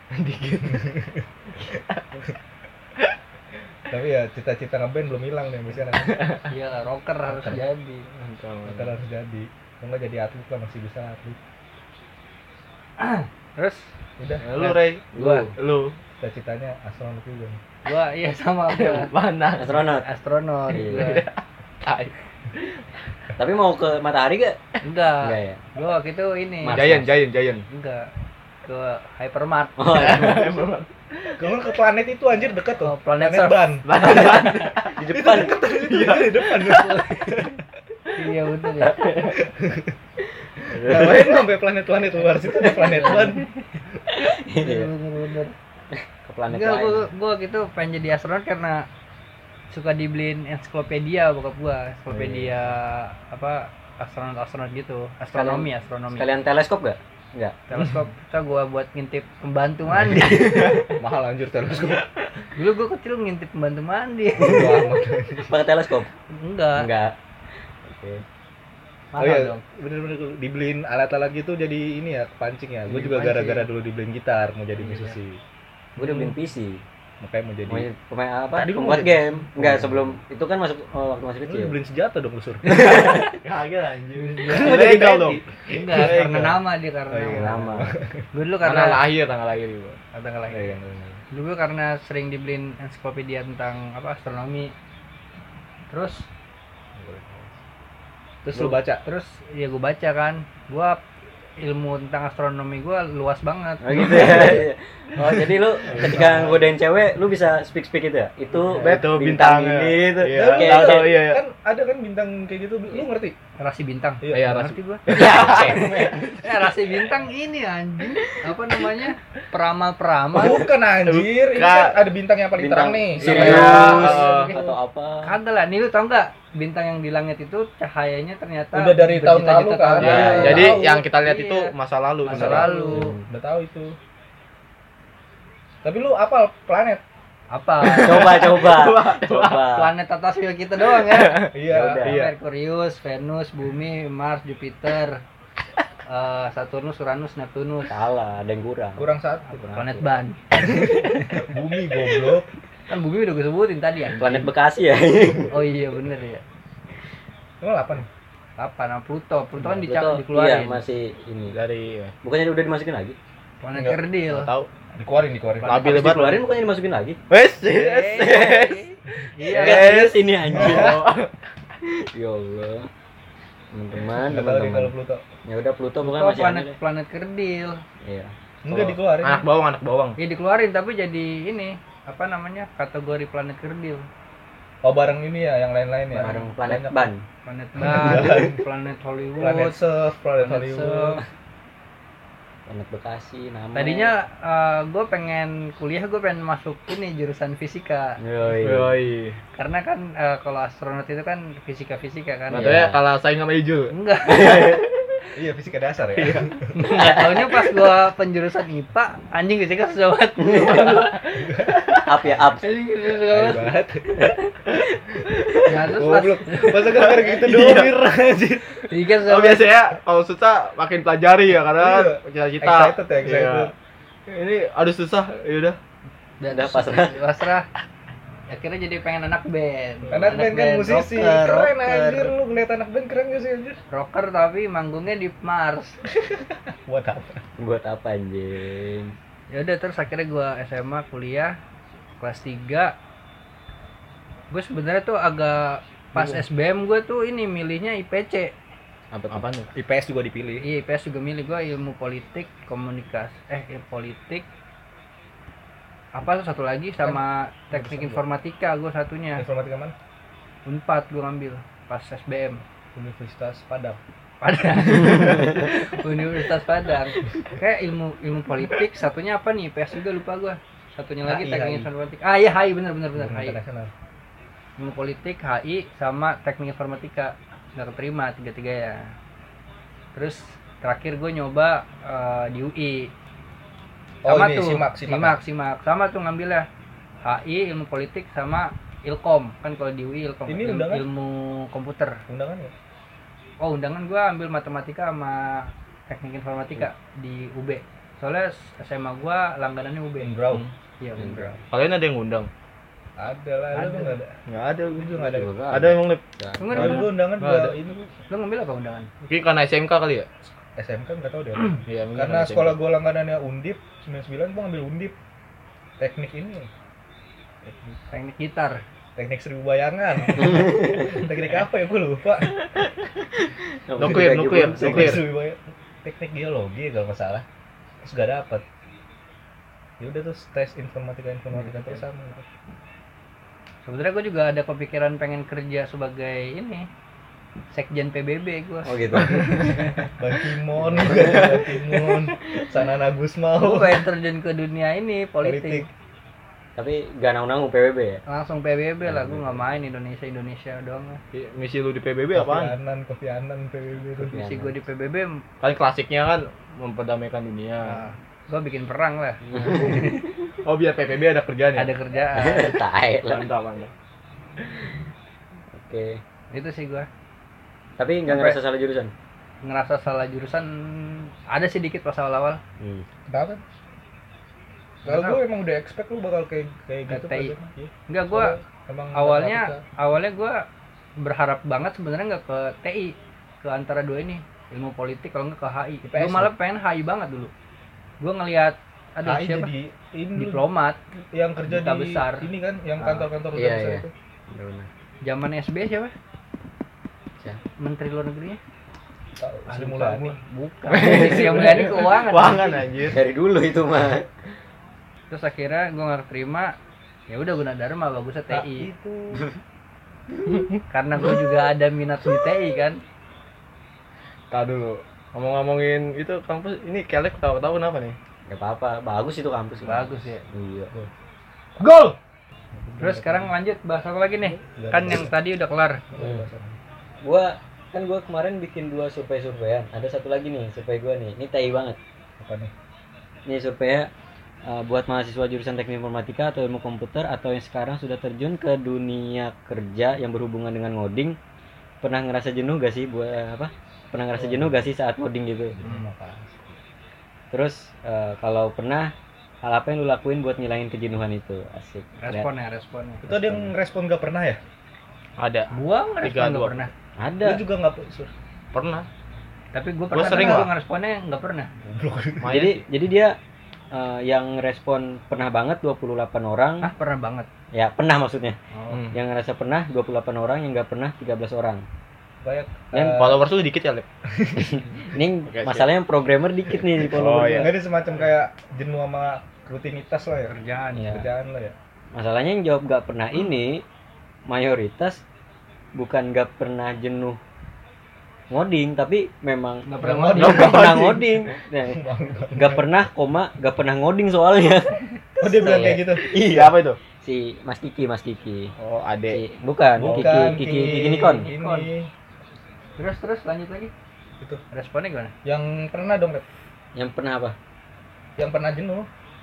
Tapi ya cita-cita ngeband belum hilang nih misalnya. iya lah, rocker harus Rocker. jadi. Kita harus jadi. Kalau nggak jadi atlet lah, masih bisa atlet. Terus Udah. Lu Ray, Gua. lu cita-citanya astronot juga. Gua iya sama gua. Mana? Astronot. Iya. Gua. Tapi mau ke matahari gak? Enggak. Enggak ya. Gua waktu itu ini. Mas. Giant. Enggak. Ke Hypermart. Oh, iya. Kalau ke planet itu anjir deket tuh. Oh, planet surf. Ban. Di depan. Iya, di depan. Iya betul ya. Ngapain sampai planet-planet luar situ ada planet ban. Iya. Bener. Ke planet Enggak, lain. gua gitu pengen jadi astronot karena suka dibeliin ensiklopedia bokap gua, ensiklopedia apa astronot gitu, astronomi. Sekalian teleskop gak? Enggak. Teleskop kita gua buat ngintip pembantu mandi. Mahal anjir teleskop. Dulu gua kecil ngintip pembantu mandi. Pakai teleskop? Enggak. Enggak. Oke. Mahal Oh iya, dong. bener-bener dibeliin alat-alat gitu jadi ini ya kepancing ya. Gue juga Kepancing. gara-gara dulu dibeliin gitar mau jadi musisi. Gue udah beliin PC. Makanya mau jadi. Mau pemain apa? Tadi lu Pembuat mau jadi- game. Enggak, sebelum itu kan masuk waktu masih Lu kecil. dibeliin senjata dong lu sur. Kagak anjir. Legal dong. Enggak, Iya, karena iya. nama dia karena Oh, iya. nama. Lama. Gue dulu Tanggal karena lahir juga. tanggal lahir. Iya, Dulu gue karena sering dibeliin ensiklopedia tentang apa astronomi. Terus lu baca. Terus ya gue baca kan, gue ilmu tentang astronomi gue luas banget. Oh gitu ya. Oh jadi lu ketika godain cewek lu bisa speak itu ya? Itu Itu bintang bintangnya. ini itu. Iya. Kayak- Tahu, kayak- iya. Kan ada kan bintang kayak gitu, lu ngerti? Rasi bintang. Iya, Nggak rasi- ngerti gue. Ya. Rasi bintang ini anjing. Apa namanya? Peramal-peramal. Bukan anjir, ini kan ada bintang yang paling terang nih. Sirius Iya. atau apa? Kagak lah, nih lu tau nggak bintang yang di langit itu cahayanya ternyata Udah dari tahun lalu berjuta-juta kan? tahun Ya, lalu. jadi tahu. yang kita lihat itu Iya. masa lalu. Masa sebenarnya. lalu. Udah tahu itu. Tapi lu apal planet? Apa? Coba. Planet atas wheel kita doang ya. Iya. udah. Iya. Merkurius, Venus, Bumi, Mars, Jupiter, Saturnus, Uranus, Neptunus. Salah, ada yang kurang. Kurang satu. Planet ban. Bumi goblok. Kan Bumi udah gue sebutin tadi ya. Planet Bekasi ya. Oh iya bener ya. Emang 8? Apa nama Pluto? Pluto kan Pluto, dikeluarin. Iya, masih ini. Dari Bukannya udah dimasukin lagi? Planet Enggak. kerdil. nggak tahu. Dikeluarin. Labil Habis lebat. dikeluarin bukannya dimasukin lagi? Wes. Iya. Guys, ini anjir. Ya Allah. Teman-teman, Enggak tahu nih teman-teman. kalau Pluto. Ya udah Pluto bukan Pluto masih planet ada deh. planet kerdil. Iya. Enggak Oh. dikeluarin. Anak bawang. Ya dikeluarin tapi jadi ini apa namanya kategori planet kerdil. Oh bareng ini ya, yang lain-lain ya. Bareng planet Banyak. ban. Planet ban, planet Hollywood, Planet Surf, Planet Planet Hollywood. Surf. Planet Bekasi nama. Tadinya gue pengen kuliah, gue pengen masuk ini jurusan fisika. Yoi. Yoi. Karena kan kalau astronot itu kan fisika kan. Katanya kalah saing sama Ijul. Enggak. Iya, fisika dasar ya. Nggak taunya pas gue penjurusan IPA, anjing fisika susah banget. Up ya up. Anjing fisika susah Ayo banget. banget. Nah, terus pas Goblok. Masa gara-gara gitu doang mir anjir. fisika susah Oh banget. biasanya kalau susah makin pelajari ya karena Iya. cita-cita. Excited ya, excited. Iya. Ini aduh susah, ya udah. Udah pasrah. Pasrah. Akhirnya jadi pengen anak band. Anak band kan musisi. rocker, Keren anjir, lu ngeliat anak band keren gak sih anjir? Rocker tapi manggungnya di Mars. Buat apa? Buat apa anjing? Ya udah terus akhirnya gua SMA kuliah kelas 3. Gue sebenarnya tuh agak pas SBM gue tuh ini milihnya IPC. Apa nih? IPS juga dipilih. Iya IPS juga milih gue ilmu politik komunikasi politik apa tuh satu lagi sama teknik informatika gue satunya. Informatika mana? Unpad gue ngambil pas SBM. Universitas Padang. Padang. Universitas Padang. Kayak ilmu politik satunya apa nih? IPS juga lupa gue. Satunya lagi HI. teknik informatika. Ah iya HI bener HI. Internasional. Ilmu politik, HI sama teknik informatika. Nggak keterima tiga-tiga ya. Terus terakhir gue nyoba di UI. Oh Sama ini tuh, simak. sama tuh ngambilnya HI ilmu politik sama Ilkom kan kalau di UI Ilkom Ini undangan? ilmu komputer. Undangan ya? Oh undangan gua ambil matematika sama teknik informatika di UB. Soalnya SMA gua langganannya UB. Unbrau. Iya Unbrau. Kalian ada yang ngundang? Ada lah, lu Ada. nggak ada. Enggak ada. Lu juga nggak ada. Ada emang Lip? Lu nggak Kalau ada? gua undangan Nggak juga ada. ini gua Lu ngambil apa undangan? Mungkin karena SMK kali ya? SMK nggak tahu deh. Iya, mungkin Karena SMK. sekolah gua langganannya Undip 99 gua ngambil Undip. teknik ini. Teknik gitar. Teknik 1000 bayangan. Teknik apa ya gue lupa. Nuklir. Teknik 1000 bayangan. Teknik geologi kalau nggak salah. Terus gak dapet. Ya udah terus tes informatika terus sama gitu. Sebenarnya gue juga ada kepikiran pengen kerja sebagai ini sekjen PBB gue. Oh gitu. Bang Timon, Sanana Gue Gusmao. pengen terjun ke dunia ini politik. Tapi gak nanggung PBB ya? Langsung PBB lah, gue nggak main Indonesia doang. Misi lu di PBB apaan? Kofi Annan PBB tuh. Misi gue di PBB, Kan klasiknya kan memperdamaikan dunia. gue bikin perang lah. Oh biar PBB ada kerjaan ya? Ada kerjaan. Tai lah. Mantap. Oke. Itu sih gue. Tapi nggak ngerasa salah jurusan? Ngerasa salah jurusan ada sih dikit pas awal-awal. Kenapa? Kalau gue emang udah expect lu bakal kayak gitu TI. pelajaran. Iya. Enggak, gue Emang awalnya gue berharap banget sebenarnya nggak ke TI, ke antara dua ini, ilmu politik kalau nggak ke HI. Gue malah pengen HI banget dulu. Gue ngelihat ada HI siapa? jadi ini Diplomat yang kerja duta di besar. ini kan yang kantor-kantor duta iya, besar iya. itu. Benar. zaman SB siapa? Siapa? Menteri luar negerinya? Sri Mulyani. Bukan. Sri Mulyani keuangan. Keuangan anjir. Dari dulu itu mah. Terus akhirnya gue nggak terima. Ya udah Gunadarma bagusnya TI. Itu. Karena gue juga ada minat di TI kan. Tahu dulu. Ngomong-ngomongin itu kampus ini kelek tahu-tahu kenapa nih? Gak apa-apa, bagus itu kampus. Bagus ya. Iya. Gol. Terus sekarang lanjut bahas apa lagi nih? Kan yang tadi udah kelar. Gua kemarin bikin 2 survei-surveian. Ada satu lagi nih, survei gua nih. Ini tai banget. Apa nih? Ini surveinya buat mahasiswa jurusan teknik informatika atau ilmu komputer atau yang sekarang sudah terjun ke dunia kerja yang berhubungan dengan ngoding. Pernah ngerasa jenuh gak sih Pernah ngerasa jenuh gak sih saat ngoding gitu? Terus kalau pernah, hal apa yang lu lakuin buat ngilangin kejenuhan itu? Asik. Responnya. Itu ada yang respon gak pernah ya? Ada. Gua ngerespon 3-2. nggak pernah. Ada. Lu juga nggak Pernah. Tapi gue pernah. sering, gue Pak. ngeresponnya nggak pernah. Jadi dia yang respon pernah banget 28 orang. Ah, pernah banget. Ya, pernah maksudnya. Oh. Yang ngerasa pernah 28 orang, yang nggak pernah 13 orang. Banyak. Yang Followers lu dikit ya, Lep? Ini Oke, masalahnya programmer dikit nih di Oh, follower. iya. Nggak ada semacam kayak jenuh sama rutinitas lah ya. Kerjaan. Iya. Kerjaan lah ya. Masalahnya yang jawab nggak pernah ini mayoritas bukan nggak pernah jenuh ngoding, tapi memang Nggak pernah ngoding. ngoding. nggak pernah ngoding. Nah, nggak pernah ngoding soalnya. Oh dia bilang kayak gitu. Siapa itu? Si Mas Kiki. Oh, Ade. Bukan, Bukan Kiki Nikon. Ini. Terus lanjut lagi. Itu. Responnya gimana? Yang pernah dong, Rep. Yang pernah apa? Yang pernah jenuh.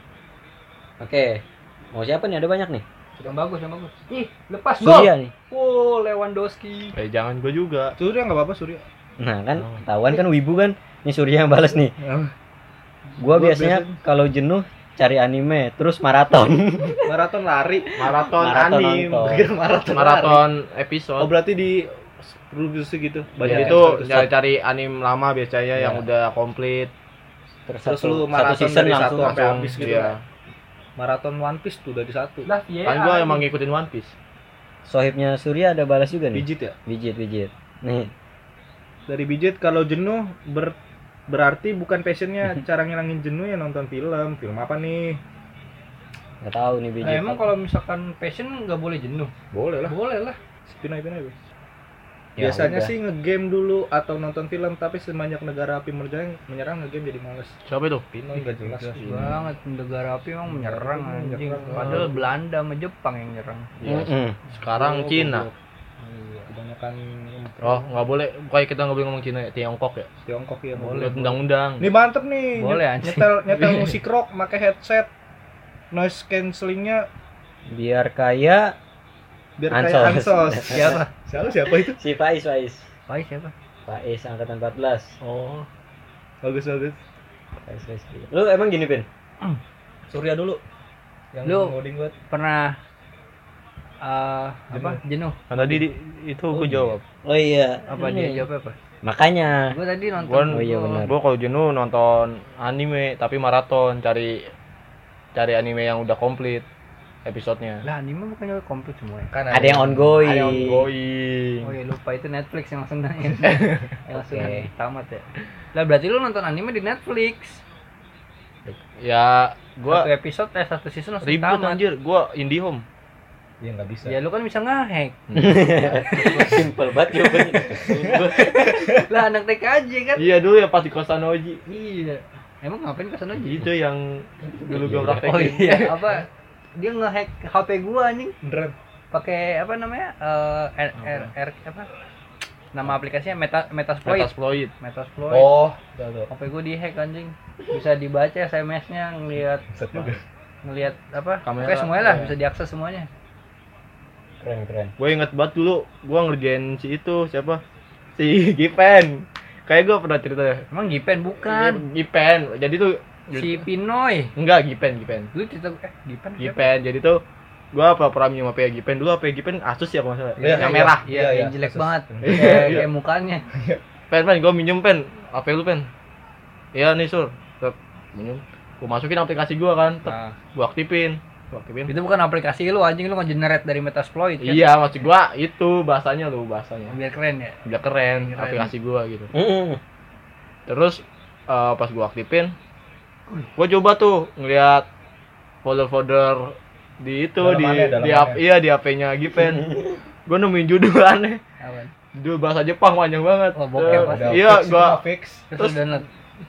Oke. Mau siapa nih? Ada banyak nih. Yang bagus. Ih, lepas gol. Surya nih. Wow, Lewandowski. Jangan gua juga. Surya nggak apa-apa Surya. Nah, kan ketahuan kan wibu kan. Ini Surya yang balas nih. Gua biasanya kalau jenuh cari anime terus maraton. Maraton lari. Maraton Maraton anime. nonton. Pikir maraton. Maraton lari. episode. Oh berarti di produksi gitu. Banyak Iya. itu cari anime lama biasanya Iya. yang udah komplit. Terus lu satu maraton season dari langsung. satu sampai habis gitu. Iya. Maraton One Piece tuh udah di satu. Lah, iya. Kan gua emang ngikutin One Piece. Sohibnya Surya ada balas juga nih. Pijit ya. Pijit. Nih, Dari Pijit kalau jenuh berarti bukan passionnya cara ngilangin jenuh ya nonton film. Film apa nih? nggak tahu nih Nah, Pijit. emang kalau misalkan passion nggak boleh jenuh. Boleh lah. Boleh lah. Pindah-pindah. Ya Biasanya udah. sih ngegame dulu atau nonton film, tapi semenjak negara api menyerang ngegame jadi males. Siapa itu? Pinoy nggak jelas. Banget negara api emang menyerang anjing. Menyerang. Padahal Belanda sama Jepang yang nyerang. Sekarang Cina. Kebanyakan Oh, nggak boleh. Pokoknya kita nggak boleh ngomong Cina ya, Tiongkok ya. Tiongkok ya. Boleh undang-undang. Nih mantep nih. Boleh, anjing. Nyetel musik rock, pakai headset. Noise cancellingnya Biar kaya biar kayak Ansos. Ansos. Siapa? itu? si Faiz. Faiz siapa? Faiz angkatan 14. Oh. Bagus. Faiz. Lu emang gini, Pin? Surya dulu. Yang Lu- ngoding buat Pernah apa? Jenuh. Kan tadi itu gua jawab. Oh iya. Apa Ini. dia jawab apa? Makanya. Gue tadi nonton. Gua Oh iya, benar. Gua kalau jenuh nonton anime tapi maraton cari cari anime yang udah komplit episodenya. Lah anime bukannya komplit semua ya? Kan Ada yang ongoing. Ada ongoing. Oh ya lupa itu Netflix yang langsung yang langsung tamat ya. Lah berarti lu nonton anime di Netflix. Ya gua Satu season langsung ribet tamat. anjir, gua IndiHome. Iya nggak bisa. Ya lu kan bisa nge-hack. Simple banget jawabannya. Lah anak TK aja kan. Iya dulu ya pas di kosan Oji. Iya. Emang ngapain ke sana aja? Itu yang dulu gua Oh praktekin. iya, apa? Dia nge-hack HP gua anjing. Beneran. Pakai apa namanya? Apa? Nama aplikasinya Metasploit. Metasploit. Metasploit. Oh, tahu. HP gua di-hack anjing. Bisa dibaca SMS-nya, Set juga. ngelihat apa? Kamera, Pokoknya semuanya lah, ya. bisa diakses semuanya. Keren. Gue inget banget dulu, gue ngerjain si itu siapa? Si Gipen. Kayak gue pernah cerita ya. Emang Gipen bukan? Gipen. Jadi tuh Si Pinoy. enggak Gipen. Lu cerita Gipen siapa? Gipen. Jadi tuh gue pura-pura minjem HP Gipen dulu. HP Gipen Asus ya kalau nggak salah. Iya, yang iya. merah. Iya, Iya, yang iya. jelek Asus. banget. Iya. Kayak mukanya. Pen, gue minjem pen. HP lu pen. Iya nih sur. Tep, minjem. Gue masukin aplikasi gue kan. Nah, Gue aktifin. itu bukan aplikasi lu anjing, lu nge-generate dari Metasploit kan? Iya maksud gue itu bahasanya lu bahasanya. Biar keren ya. Udah keren Keren. aplikasi gue gitu. Mm. Terus pas gua aktifin, gua coba tuh ngeliat folder-folder di itu Dalamannya. di HP-nya Gipen. Gua nemuin judul aneh. Apaan? Judul bahasa Jepang panjang banget. Oh, bokep pasti. Iya, fix, gua itu mah fix. Terus lu download.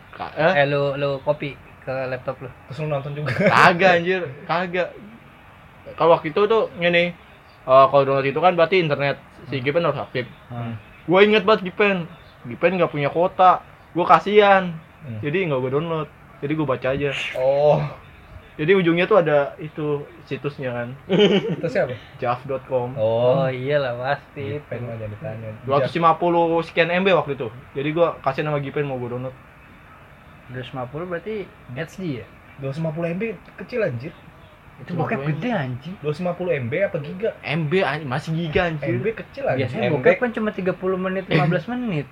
Lu copy ke laptop lu. Terus lu nonton juga. Kagak anjir, kagak. Kalau waktu itu tuh ngene, kalau download itu kan berarti internet si Gipen harus aktif. Gua inget banget Gipen nggak punya kuota. Gua kasihan. Jadi nggak gua download. Jadi gua baca aja. Oh, Jadi ujungnya tuh ada itu situsnya kan, itu siapa? jav.com. Oh iyalah pasti. Pengen aja ditanya. 250 sekian MB waktu itu. Jadi gua kasih nama Gipen mau gua download. 250 berarti HD ya? 250 MB kecil anjir. Itu bokep gede anjing. 250 MB apa giga? MB anjing, masih giga anjir. MB kecil anjir. Biasanya MB. bokep kan cuma 30 menit 15 menit.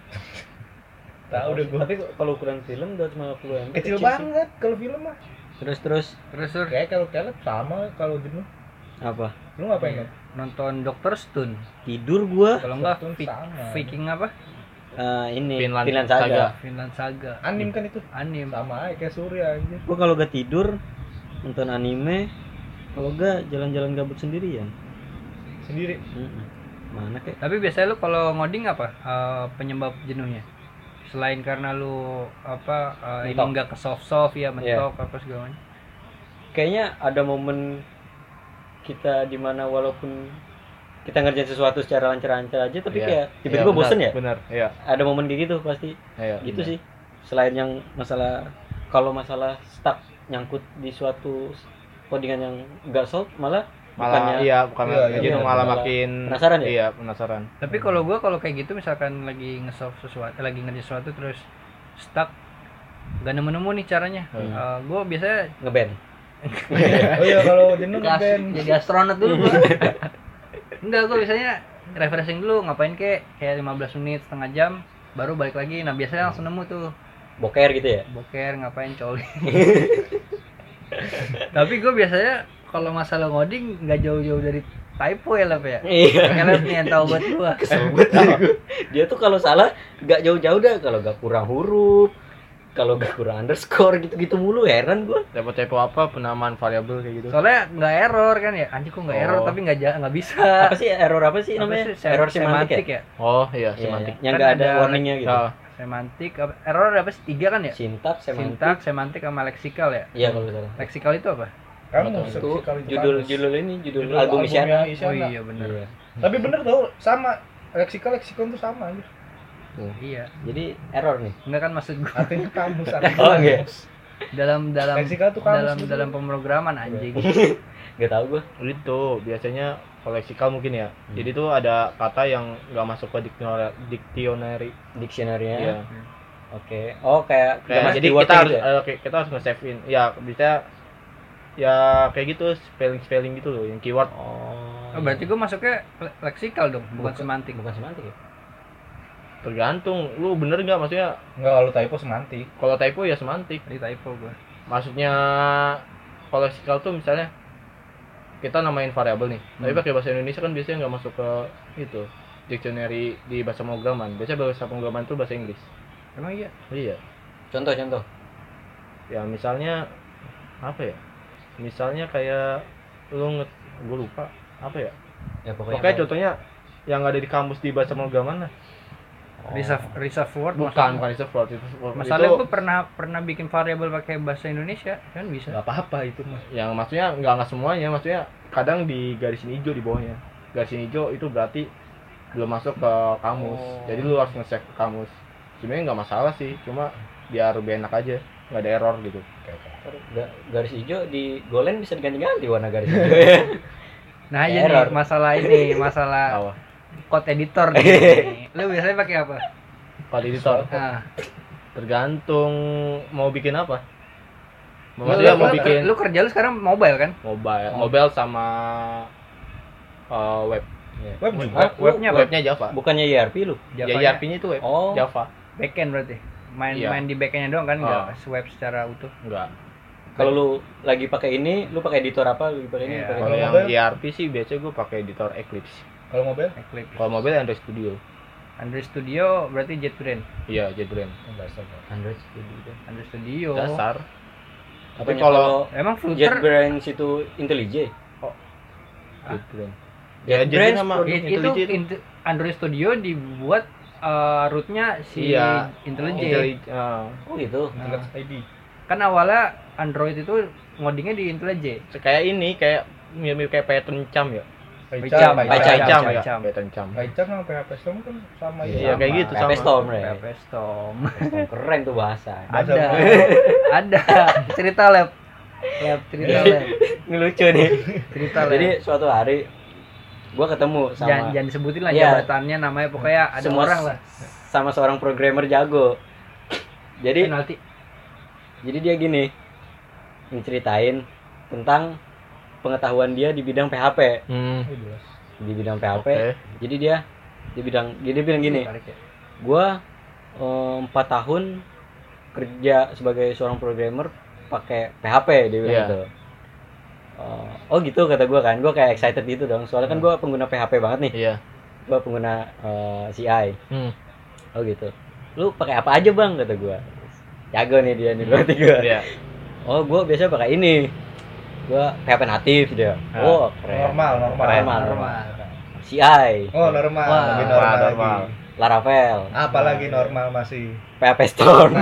Tahu udah gua. Tapi kalau ukuran film 250 MB Kecil sih. banget kalau film mah. Terus Terus Sur, Kayak kalau kelep sama kalau jenuh. apa? Lu ngapain kan? nonton Dr. Stone. Tidur gua. Kalau enggak Stone sama. Viking apa? Ini Finland Saga. Saga. Finland Saga. Anim kan itu. Anim. Sama aja kayak Surya anjir. Gua kalau gak tidur nonton anime, kalau gak jalan-jalan gabut sendirian. Sendiri. Mana kek? Tapi biasanya lu kalau ngoding apa? Penyebab jenuhnya? Selain karena lu apa ini Mentok. enggak ke soft ya, mentok apa segala macam. Kayaknya ada momen kita dimana walaupun kita ngerjain sesuatu secara lancar-lancar aja, tapi Iya. kayak tiba-tiba Iya, bosen ya. Benar, iya. Ada momen kayak gitu pasti. Iya. Gitu benar. sih. Selain yang masalah, kalau masalah stuck nyangkut di suatu codingan yang enggak solve, malah Malah bukan Iya, jadi iya, malah malah makin penasaran ya? Iya, penasaran. Tapi kalau gua kalau kayak gitu misalkan lagi nge-solve sesuatu, lagi ngerjain sesuatu terus stuck gak nemu-nemu nih caranya. Gua biasanya ngeband. Oh iya kalau jenuh ngeband. jadi astronot dulu gua. Enggak, gua biasanya refreshing dulu, ngapain kayak 15 menit, setengah jam baru balik lagi. Nah, biasanya langsung nemu tuh. Boker gitu ya. Boker ngapain coli. Tapi gue biasanya kalau masalah ngoding nggak jauh-jauh dari typo ya Lep ya. Iya. Elep nih yang tahu buat gua. Kesel banget. Dia tuh kalau salah nggak jauh-jauh dah, kalau nggak kurang huruf, kalau nggak kurang underscore gitu-gitu mulu, heran gua. Typo apa penamaan variabel kayak gitu. Soalnya nggak error kan ya. Anjing kok nggak error Oh. tapi nggak bisa. Apa sih error apa sih Apa namanya? sih? Error semantik ya? Oh, iya, Iya, semantik. yang Kan nggak ada ada warningnya gitu. Nah, Semantik error apa sih? 3 kan ya? Sintaks, Sintak, semantik sama leksikal ya. Iya kalau nggak salah. Leksikal itu apa? Kamu Itu judul ini judul album albumnya Isyana. Oh iya benar. Iya. Tapi bener tau sama leksikon tuh sama anjir. Iya. Jadi error nih. Enggak kan maksud gua Artinya kamus. Oh, iya. dalam Leksikal tuh kamus gitu. dalam pemrograman anjing. Gak tau gua. itu biasanya koleksikal mungkin ya. Jadi tuh ada kata yang nggak masuk ke dictionary. Dictionary-nya. Iya. Oke. Oh, kayak nggak Kayak, masuk jadi di word kita harus gitu ya? kita harus nge-save in. Ya, bisa ya kayak gitu spelling gitu loh yang keyword. Oh, berarti gua masuknya leksikal dong, bukan semantik. Bukan semantik ya? Tergantung lu bener nggak maksudnya. Enggak kalau typo semantik. Kalau typo ya semantik. Ini typo gua. Maksudnya kalau leksikal tuh misalnya kita namain variabel nih, tapi pakai bahasa Indonesia kan biasanya nggak masuk ke itu dictionary di bahasa pemrograman. Biasanya bahasa pemrograman tuh bahasa Inggris. Emang iya. Iya. Contoh. Ya misalnya apa ya? Misalnya kayak gue lupa apa ya? Ya Pokoknya contohnya yang ada di kamus di bahasa pemrograman lah. Reserve word Bukan reserve word itu. Masalahnya gue pernah bikin variabel pakai bahasa Indonesia kan bisa. Nggak apa-apa itu mah. Yang maksudnya nggak semuanya, maksudnya kadang di garisin hijau di bawahnya. Garisin hijau itu berarti belum masuk ke kamus. Jadi lu harus nge-check ke kamus. Sebenarnya nggak masalah sih, cuma biar lebih enak aja, nggak ada error gitu. Garis hijau di Golen bisa diganti-ganti warna garis hijau ya. Nah, aja nih masalah Apa? code editor nih. Lu biasanya pakai apa? Kalau editor Nah, tergantung mau bikin apa. Maksudnya mau bikin lu kerja lu sekarang mobile kan? mobile sama web. Web juga. Webnya apa? Webnya Java. Bukannya ERP lu? Ya Javanya ERP-nya itu web. Oh. Java. backend berarti. Iya. Main di backendnya doang kan, Ah. nggak web secara utuh. Enggak. Kalau lu lagi pakai ini, lu pakai editor apa? Lu pakai ini, Iya. pakai Kalau ini. yang mobile? ERP sih biasanya gue pakai editor Eclipse. Kalau mobil? Eclipse. Kalau mobile Android Studio. Android Studio berarti JetBrains. Iya, JetBrains. Android Studio. Android Studio. Dasar. Tapi Apanya kalau Emang Flutter JetBrains itu IntelliJ? JetBrains. JetBrains JetBrains sama produk itu Android Studio dibuat rootnya si Iya. IntelliJ. Oh gitu. Nah, ID. kan awalnya Android itu ngodingnya di IntelliJ. Kayak ini kayak mirip kayak Python Cam ya. Pecam, Python Pecam. Cam ya. Python Cam. Python sama PHP Storm kan sama ya. Iya, kayak gitu sama. PHP Storm ya. PHP Storm. Keren tuh bahasa. Bahasa Ada. Ada. Cerita lab. Cerita lab. Ini lucu nih. Cerita lab. Jadi suatu hari gua ketemu sama jangan disebutin lah Iya. jabatannya, namanya pokoknya ada Semua orang lah. sama seorang programmer jago. Jadi Penalti. dia gini ngeceritain tentang pengetahuan dia di bidang PHP. Di bidang PHP. Oke. Jadi dia bilang gini, Tarik ya. gua 4 tahun kerja sebagai seorang programmer pakai PHP, dia bilang Iya. gitu. Oh gitu kata gua kan, gua kayak excited gitu dong, soalnya kan gua pengguna PHP banget nih, Iya. gua pengguna CI. Hmm. Oh gitu, lu pakai apa aja bang, kata gua. Jago nih dia nih berarti gua. Iya. Oh gua biasa pakai ini, gua PHP natif dia. Ah. Oh keren. Normal. CI, Oh normal, Wah, lebih normal, normal. lagi. Laravel, Apalagi normal masih. PHP Storm.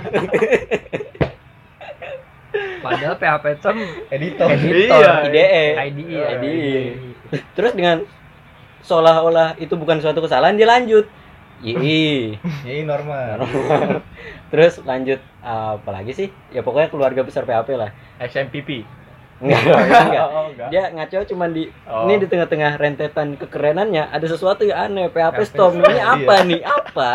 Padahal PHP Storm Editor. editor, Iya. IDE. IDE. Terus dengan seolah-olah itu bukan suatu kesalahan, dia lanjut. II. Ini normal. Terus lanjut apa lagi sih? Ya pokoknya keluarga besar PHP lah. XMPP. Enggak. Oh, enggak. Dia ngaco cuman di Oh. ini di tengah-tengah rentetan kekerenannya ada sesuatu yang aneh. PHP PHP Storm ini apa Iya. nih? Apa?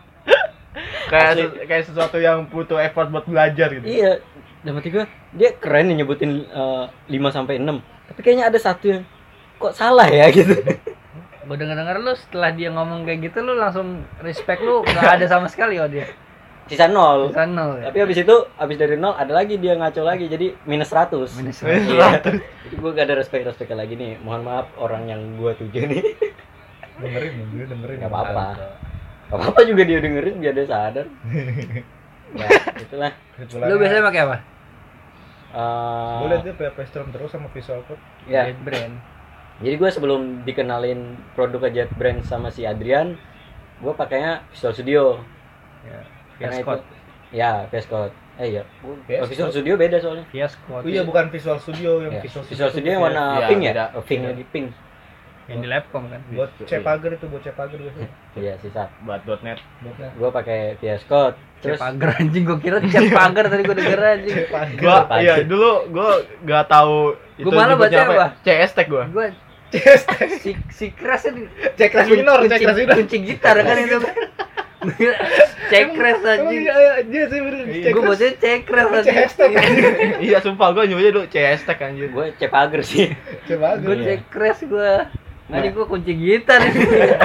Kayak sesuatu yang butuh effort buat belajar gitu. Iya. Dan mati gue, dia keren nih nyebutin 5 sampai 6. Tapi kayaknya ada satu yang kok salah ya gitu. Gue denger lu setelah dia ngomong kayak gitu lu langsung respect, lu nggak ada sama sekali oh dia. Sisa 0. Bisa nol. Tapi habis itu, habis dari 0 ada lagi dia ngaco lagi jadi minus 100. Minus Iya. Jadi gue gak ada respect lagi nih. Mohon maaf orang yang gue tuju nih. dengerin. Gak apa-apa. Gak apa-apa juga dia dengerin biar dia sadar. Ya, itulah. Lu biasanya pakai apa? Boleh tuh PHP Storm terus sama Visual Code. Ya. JetBrains. Jadi gue sebelum dikenalin produk JetBrains sama si Adrian, gue pakainya Visual Studio. Ya. Karena VS itu, Code. ya VS Code. Iya. VS Visual Code. Studio beda soalnya. VS Code. Oh iya bukan Visual Studio yang Ya. Visual Visual Studio yang warna Iya, pink ya? beda. Oh, pink Iya. lagi pink. Yang di Labcom kan. buat Cepager itu buat Cepager biasanya. Iya sisa. Buat .net. Buatnya. Gue pakai VS Code. Terus Cepager anjing, gua kira Cepager tadi gua denger anjing. Cepager. Gua Pagi. iya dulu gua enggak tahu itu Gua malah nyebutnya baca apa? CS Tech gua. Gua si keras ini Cekras minor, cekras minor. kunci gitar kan itu. Cekres anjing. Iya sih bener. Gua bacanya cekres anjing. Hashtag anjing. Iya sumpah gua nyebutnya dulu CS Tech anjir. gue Cepager sih. Cepager. Gua cekres gua. Anjing gua kunci gitar ini.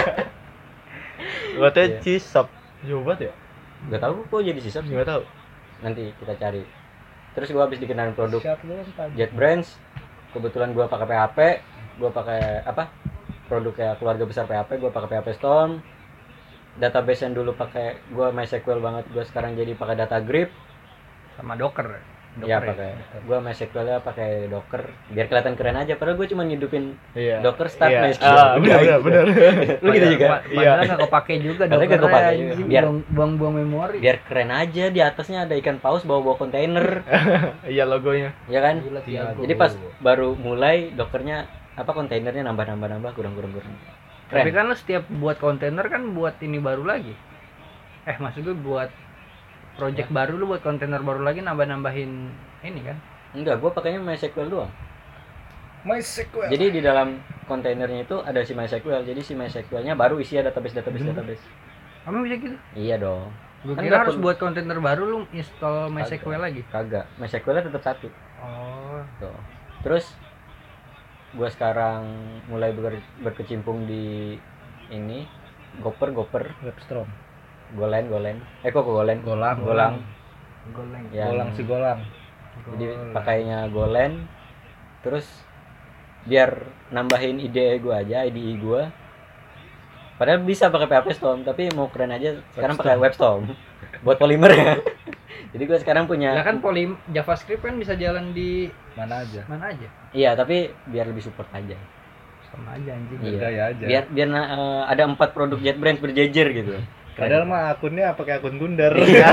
Gua teh Iya. Cisop. Jauh banget ya? Gak tahu kok jadi sisa sih. Enggak tahu. Nanti kita cari. terus gue habis dikenalin produk Siap lu kan. JetBrains. Kebetulan gue pakai PHP, gue pakai apa produknya keluarga besar PHP, gue pakai PHP Storm. Database yang dulu pakai gue MySQL banget, gue sekarang jadi pakai Datagrip. Sama Docker. Ya pakai gue MySQL-nya pakai Docker biar kelihatan keren aja, padahal gue cuma ngidupin Iya. Docker start Iya. MySQL. Benar. Lu gitu juga. Padahal nggak kepake juga Padahal nggak Dockernya, kepake juga. anjing, Biar- buang-buang memori. Biar keren aja, di atasnya ada ikan paus bawa kontainer, Iya logonya. ya kan? Gila, Tiago. Jadi pas baru mulai Dockernya apa kontainernya nambah kurang. Tapi Keren. kan lu setiap buat kontainer kan buat ini baru lagi. Maksud gue buat project baru lu buat kontainer baru lagi nambah-nambahin ini kan. Enggak, gua pakainya MySQL doang. MySQL. Jadi di dalam kontainernya itu ada si MySQL. Jadi si MySQL-nya baru isi database. Kamu bisa gitu? Iya dong. Gue Kan kira nggak harus perlu- buat kontainer baru lu install MySQL lagi. Kagak. MySQL-nya tetap satu. Oh. Tuh. Terus gua sekarang mulai berkecimpung di ini Gopher, Webstrom. Golang. Kok Golang? Golang. Golang. Goleng. Yang- Golang si Golang. Jadi pakainya Golang. Terus biar nambahin IDE gua aja, IDE gua. Padahal bisa pakai PHP Storm, tapi mau keren aja sekarang pakai WebStorm buat Polymer ya. Jadi gua sekarang punya. Ya kan JavaScript kan bisa jalan di Mana aja. mana aja. Iya, tapi biar lebih support aja. Sama aja anjing. Iya. Gaya aja. Biar ada 4 produk JetBrains berjejer gitu. Padahal mah akunnya pakai akun Gundar.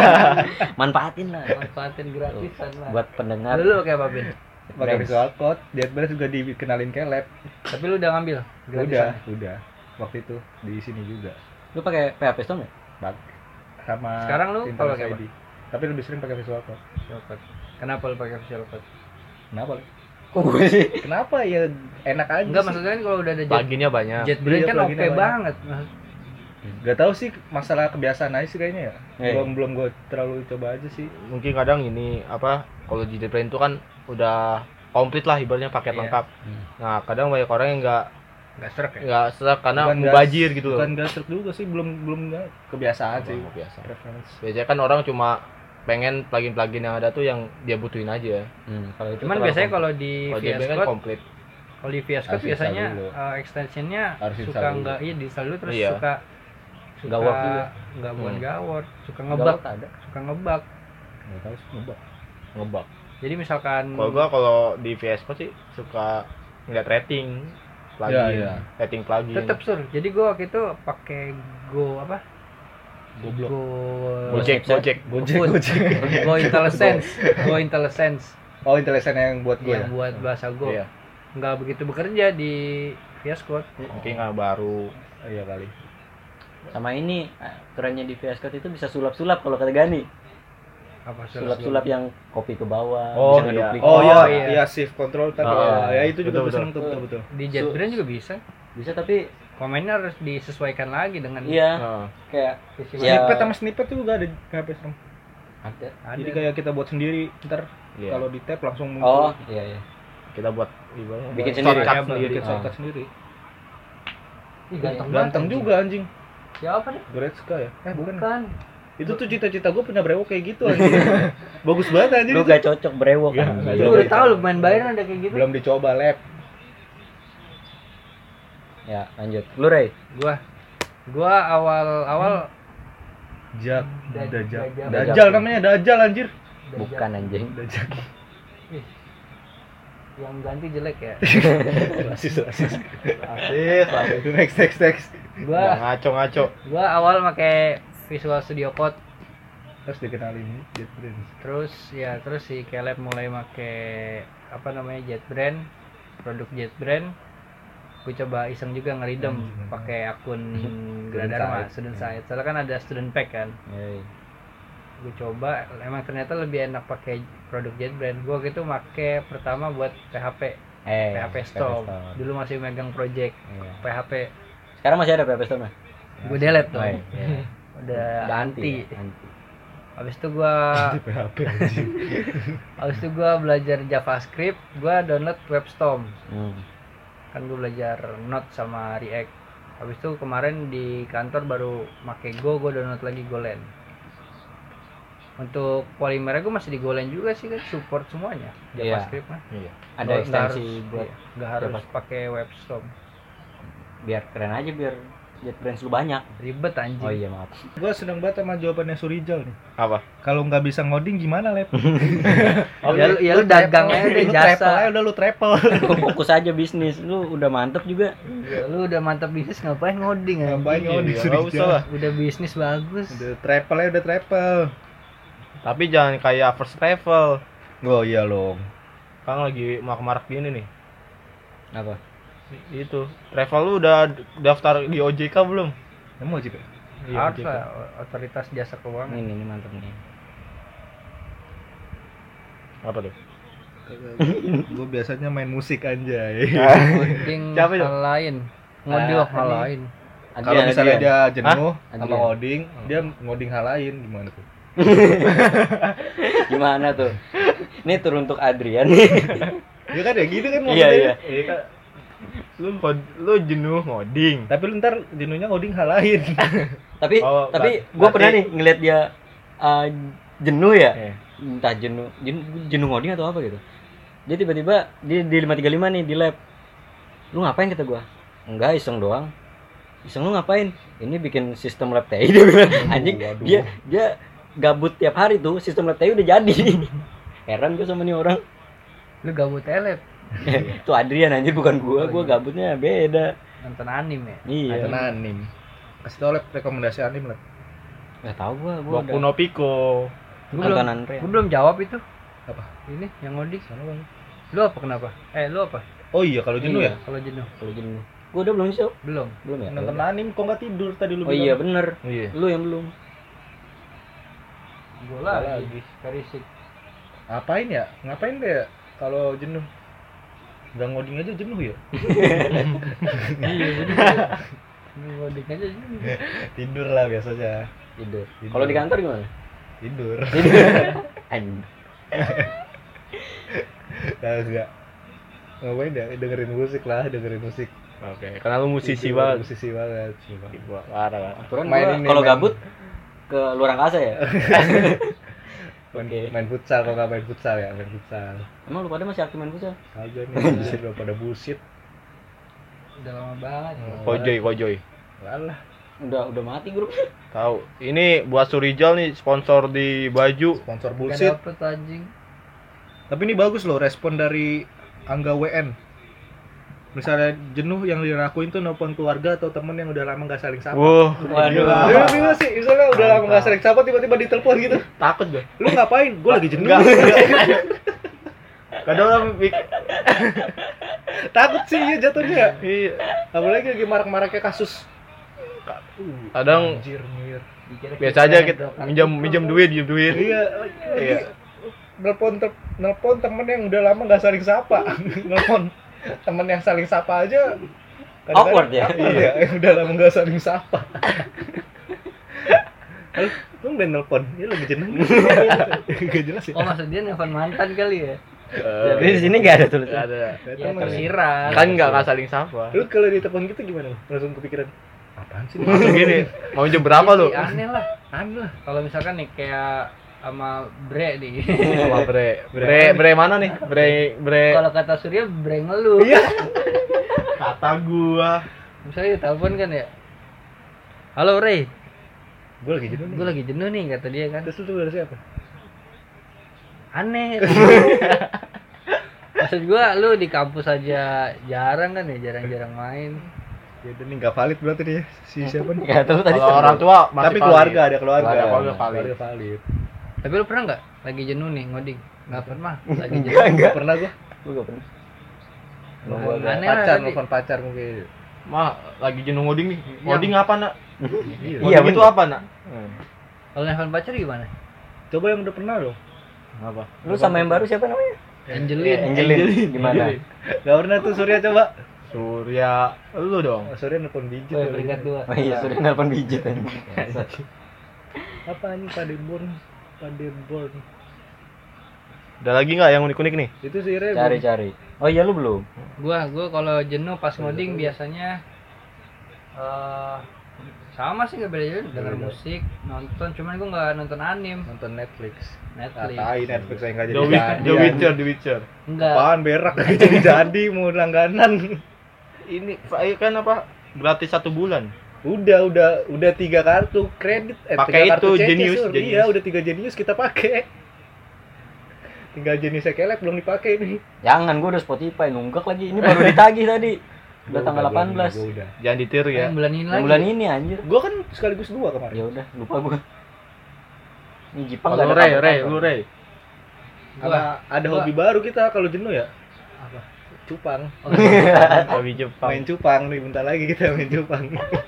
Manfaatin lah Manfaatin gratisan lah. buat pendengar. Lu kayak apa, Bin? Pakai Brands. Visual Code. JetBrains juga dikenalin ke lab. Tapi lu udah ngambil gratisan. Udah. Waktu itu di sini juga. Lu pakai PHP Storm ya? Bak. Sama Sekarang lu Internet kalau kayak ID. Tapi lebih sering pakai Visual Code. Visual Code. Kenapa lu pakai Visual Code? Kenapa? Li? Kok gue sih? Kenapa ya enak aja Enggak, sih. maksudnya kan kalau udah ada Pluginnya banyak. JetBrains Iya, kan OP pluginnya banyak. banget. Gak tahu sih masalah kebiasaan aja sih kayaknya ya. Iya. Belum gue terlalu coba aja sih. Mungkin kadang ini apa kalau di JetBrains itu kan udah komplit lah ibaratnya paket Iya. lengkap. Hmm. Nah, kadang banyak orang yang Enggak serak ya? nggak serak karena Bukan nggak- mubazir gitu loh. Bukan gak serk juga sih, belum nggak kebiasaan sih. Oh, biasa. Preference. Biasanya kan orang cuma pengen plugin-plugin yang ada tuh yang dia butuhin aja. Kalau itu Cuman terlalu biasanya komplit. kalau di Kalau VS JetBrains kan Code, komplit. kalau di VS Code Harus install biasanya dulu. extensionnya Harus suka install dulu. enggak di install dulu terus Iya. suka Nggak work juga. Enggak bukan Hmm. nggak work, suka Nggak ngebug, work ada. suka ngebug. Nggak tahu sih ngebug. Ngebug. Jadi misalkan Kalau gua kalau di VS Code sih suka ngeliat rating plugin, Iya, iya. rating plugin. tetap sur. Jadi gua waktu itu pakai Go apa? Goblok. Gojek. Go IntelliSense. Go IntelliSense Oh, intelijen yang buat gue yang ya. buat bahasa Go. Iya. Nggak begitu bekerja di VS Code. Mungkin nggak baru. Iya kali. Sama ini kerennya di VS Code itu bisa sulap-sulap kalau kata Gani. Apa Sulap-sulap yang copy ke bawah, Oh, bisa iya. ngeduplik. Oh, iya. iya, iya shift control kan. Oh, ya itu juga betul, gue seneng tuh betul. Di JetBrains juga bisa. Bisa tapi Komennya harus disesuaikan lagi dengan iya Nah, kayak visi Iya. Snippet sama snippet tuh juga ada di PHP Storm. ada. ada. Jadi kayak kita buat sendiri, ntar iya. kalau di tab langsung Oh, muncul. iya. Kita buat ibaratnya Bikin buat sendiri. shortcut Ya, sendiri. Bikin shortcut sendiri. Ih, ganteng banget, Ganteng anjing. juga anjing. Siapa nih? Goretzka ya? Bukan. Bukan. Itu tuh cita-cita gue punya brewok kayak gitu anjing. Bagus banget anjing. Lu itu. gak cocok brewok Iya, kan. nggak Lu Coba. udah tahu lu main Bayern ada kayak gitu. Belum dicoba lab. Ya, lanjut. Lu Ray. Gua awal-awal Jak, Dajjal. Dajjal. Dajjal namanya Dajjal anjir. Bukan anjing. Dajjal. yang ganti jelek ya. Rasis. Asis. Next. Gua Ngaco-ngaco. awal pakai Visual Studio Code, Terus dikenalin JetBrains. terus si Caleb mulai pakai apa namanya JetBrains, produk JetBrains. Gue coba iseng juga ngeridem pakai akun Gradharma, Student Site. Soalnya kan ada student pack kan. Yoi. Gue coba, emang ternyata lebih enak pakai produk JetBrains. Gue gitu pakai pertama buat PHP PHP Storm. Dulu masih megang project Iya. PHP. Sekarang masih ada PHP Storm ya? Gue delete tuh. Oh, iya. Udah anti. Anti. Habis itu gua PHP anjing. habis itu gua belajar JavaScript, gua download WebStorm. Kan gue belajar Node sama React. Habis itu kemarin di kantor baru make Go, gue download lagi Golang. Untuk Polymernya gue masih digoleng juga sih kan, support semuanya JavaScript mah. Iya. Ada Nggak ekstensi harus- buat iya, nggak harus pakai WebStorm, biar keren aja, biar JetBrains lu banyak. ribet anjing. Oh iya, maaf. Gue seneng banget sama jawabannya Surijal nih. Apa? Kalau nggak bisa ngoding gimana, Lep? Ya lu dagang aja deh, Lu travel aja jasa. udah, lu travel. Lu fokus aja bisnis, lu udah mantep juga. Ya, lu udah mantap bisnis ngapain ngoding ya? Ngapain ngoding Iya, nggak usah Surijal? lah. Udah bisnis bagus. Udah travel aja, udah travel. Tapi jangan kayak first travel. Oh iya loh. Kan lagi marak-marak gini nih. Apa? Itu. Travel lu udah daftar di OJK belum? Emang juga. Harus lah, otoritas jasa keuangan. Ini mantep nih. Apa tuh? Gue biasanya main musik anjay. Ngoding Siapa itu? hal lain. Ngoding hal ini. lain. Kalau misalnya dia jenuh Hah? sama Adrian. ngoding, dia ngoding hal lain gimana tuh? Gimana tuh? Ini turun untuk Adrian nih. Ya kan ya gitu kan Iya, maksudnya. iya. Iya kan. Lu jenuh ngoding. Tapi lu ntar jenuhnya ngoding hal lain. tapi Oh, tapi gue berarti- pernah nih ngeliat dia jenuh ya. Iya. Entah jenuh ngoding atau apa gitu. Dia tiba-tiba di 535 nih di lab. Lu ngapain kata gua? Enggak, iseng doang. Iseng lu ngapain? Ini bikin sistem lab TI dia bilang. Anjing, Waduh. dia gabut tiap hari tuh, sistem lab TI udah jadi. Heran gua sama nih orang. Lu gabut elep Tuh Adrian anjir, bukan gua. Gua gabutnya beda. nonton anime ya? Iya. Nonton anim. Kasih tau Lep rekomendasi anim Lep. Enggak tahu gua Boku udah no Pico. nontonan Rea. Gua belum jawab itu. Apa? Ini yang ngoding. Sana bang. Lu apa kenapa? Lu apa? Oh iya kalau jenuh Iya. ya. Kalau jenuh? Kalau jenuh. Gua udah belum sih. Belum. Belum ya? Nonton anim kok nggak tidur tadi lu Oh iya bilang. bener. Iya. Lu yang belum. Gua Gua lagi. lagi. Karisik. Ngapain ya? Ngapain deh ya? Kalau jenuh. Udah ngoding aja jenuh ya? Iya bener. Lu ngoding aja jenuh. Tidur lah biasanya. Tidur. Tidur. Kalau di kantor gimana? Tidur. Anjing. Kagak. Ngapain ya? Dengerin musik lah, dengerin musik. Oke, karena lu musisi Tidur, banget. Musisi banget. Gua parah. Aturan Main gua ini, kalau main- gabut ke luar angkasa ya. Main futsal, kalau nggak main futsal ya, main futsal. Emang lu pada masih aktif main futsal? Kagak nih, udah pada bullshit. Udah lama banget. Kojoy. Alah. Udah mati grup. Tahu. Ini buat Surijal nih sponsor di baju. Sponsor Gak bullshit. dapet anjing. Tapi ini bagus loh respon dari Angga WN. Misalnya jenuh yang dilakuin tuh nelpon keluarga atau temen yang udah lama gak saling sapa. Wah, Waduh. Dia bingung sih, misalnya udah lama gak saling sapa tiba-tiba ditelepon gitu. takut gue. Lu ngapain? Gue lagi jenuh. Kadang orang Takut sih ya jatuhnya. iya. Apalagi lagi marak-maraknya kasus. Kadang Anjir, nyir. biasa aja kita minjem duit. Iya, Iya. nelpon temen yang udah lama gak saling sapa. Nelpon temen yang saling sapa aja kadang-kadang Awkward ya? awkward ya, yang udah lama gak saling sapa. Halo, lu udah nelpon? Ya lagi jenuh. Gak jelas ya. Oh maksud dia nelfon mantan kali ya? Tapi di sini enggak ada tulisan. Ada. Ya tersirat. Kan enggak saling sapa. Lu kalau ditelepon gitu gimana? Langsung kepikiran apaan sih? Langsung gini, mau jam berapa lu? Iya, aneh lah. Aneh lah. Kalau misalkan nih kayak sama Bre nih. Sama bre mana nih? Bre Kalau kata Surya Bre ngeluh. Iya. kata gua. Misalnya telepon kan ya. Halo Ray, Gue lagi jenuh nih. gue lagi jenuh nih kata dia kan. Terus lu dari siapa? Aneh. Maksud gua lu di kampus aja jarang kan ya, jarang-jarang main. Ya udah nih nggak valid berarti nih si siapa nih? Enggak tahu tadi. Kalau orang tua masih Tapi valid. keluarga ada keluarga. Keluarga valid. Keluarga valid. Tapi lu pernah nggak lagi jenuh nih ngoding? Nggak pernah. Lagi jenuh. Enggak pernah gua. Gua enggak pernah. Nelfon Aneh lah pacar, tadi. nelfon pacar mungkin. Mah lagi jenuh ngoding nih. Ngoding apa, Nak? Iya. Iya, Ngoding itu bener. apa, Nak? Kalau nelfon pacar gimana? Coba yang udah pernah dong. Apa? Lu sama yang baru siapa namanya? Angelin. Angelin. Gimana? Gak pernah tuh Surya coba. Surya, lu dong. Oh, Surya nelfon biji. Oh, peringkat 2. Oh iya, sudah nelpon biji tadi. Apa nih Padeborn? Padeborn. Ada lagi nggak yang unik-unik nih? Itu sih Re. Cari. Oh iya, lu belum. Gua kalau jenuh pas ngoding biasanya Sama sih nggak beda jauh, denger Beda. musik, nonton, cuman gue nggak nonton anim. Nonton Netflix. Netflix. Tai Netflix saya nggak The, jadi jadi. The Witcher, The Witcher. Enggak. Apaan berak nggak jadi mau langganan. Ini kan apa? Gratis 1 bulan. Udah 3 kartu kredit. Pakai 3 kartu itu, CC, Genius, Sur. Genius. Iya, udah 3 Genius kita pakai. Tinggal Genius Kelek belum dipakai nih. Jangan, gue udah Spotify nunggak lagi. Ini baru ditagih tadi. Udah tanggal 18. Gua udah. Jangan ditiru ya. Yang bulan ini Yang lagi. bulan ini anjir. Gua kan sekaligus 2 kemarin. Ya udah, lupa gue. Ini Jepang Kalau nggak ada Ray, kabar-kabar. lu Ray. Ada Gua- hobi baru kita kalau jenuh ya. Apa? Cupang. Oh, Hobi Jepang. Main cupang nih, bentar lagi kita main cupang.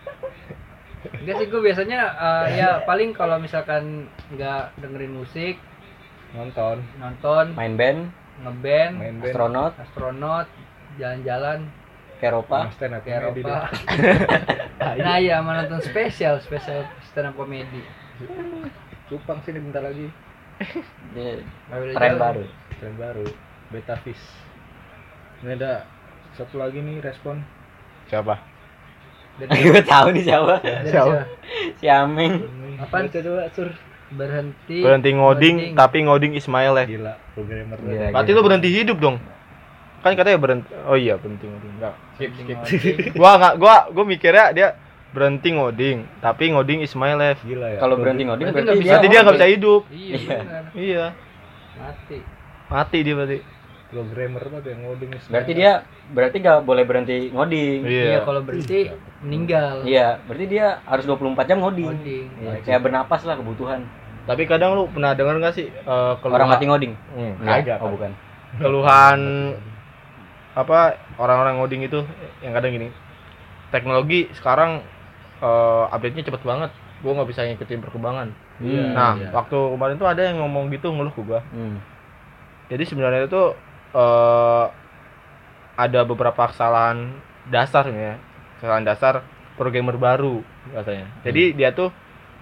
enggak sih, gue biasanya ya paling kalau misalkan nggak dengerin musik, Nonton, nonton, Main band, ngeband, main band. astronot, astronot, jalan-jalan ke Eropa. Stand up ke comedy Eropa. deh. Nah iya, sama nonton spesial stand up comedy. Cupang sini bentar lagi. Ini Nggak beda tren jauh. baru. Tren baru, Beta Fish. Ini ada satu lagi nih respon. Siapa? Dari- Gue tahu nih siapa. dari Siapa? Si Ameng. Apaan? Baca coba Sur. Berhenti Ngoding, tapi ngoding Ismail ya. Gila, programmer. Gila. Berarti lu berhenti hidup dong. Kan katanya berhenti. Oh iya, berhenti ngoding. Enggak. Skip. Gua mikirnya dia berhenti ngoding, tapi ngoding Ismail ya. Gila ya. Kalau berhenti ngoding Berarti berarti nggak dia Berarti dia nggak bisa hidup. Iya, Iya. benar. Iya. Mati. Mati dia berarti. Programmer apa yang ngoding berarti dia nggak boleh berhenti ngoding. Iya, kalau berhenti meninggal. Iya, berarti dia harus 24 jam ngoding. Ngoding. Iya, kayak bernapas lah kebutuhan. Tapi kadang lu pernah denger nggak sih Orang mati ngoding? Kagak. Oh, bukan. Keluhan apa orang-orang ngoding itu yang kadang gini. Teknologi sekarang update-nya cepet banget. Gua nggak bisa ngikutin perkembangan. Iya. Nah, waktu kemarin tuh ada yang ngomong gitu ngeluh ke gua. Jadi sebenarnya itu ada beberapa kesalahan dasar ya. Kesalahan dasar programmer baru katanya. Jadi dia tuh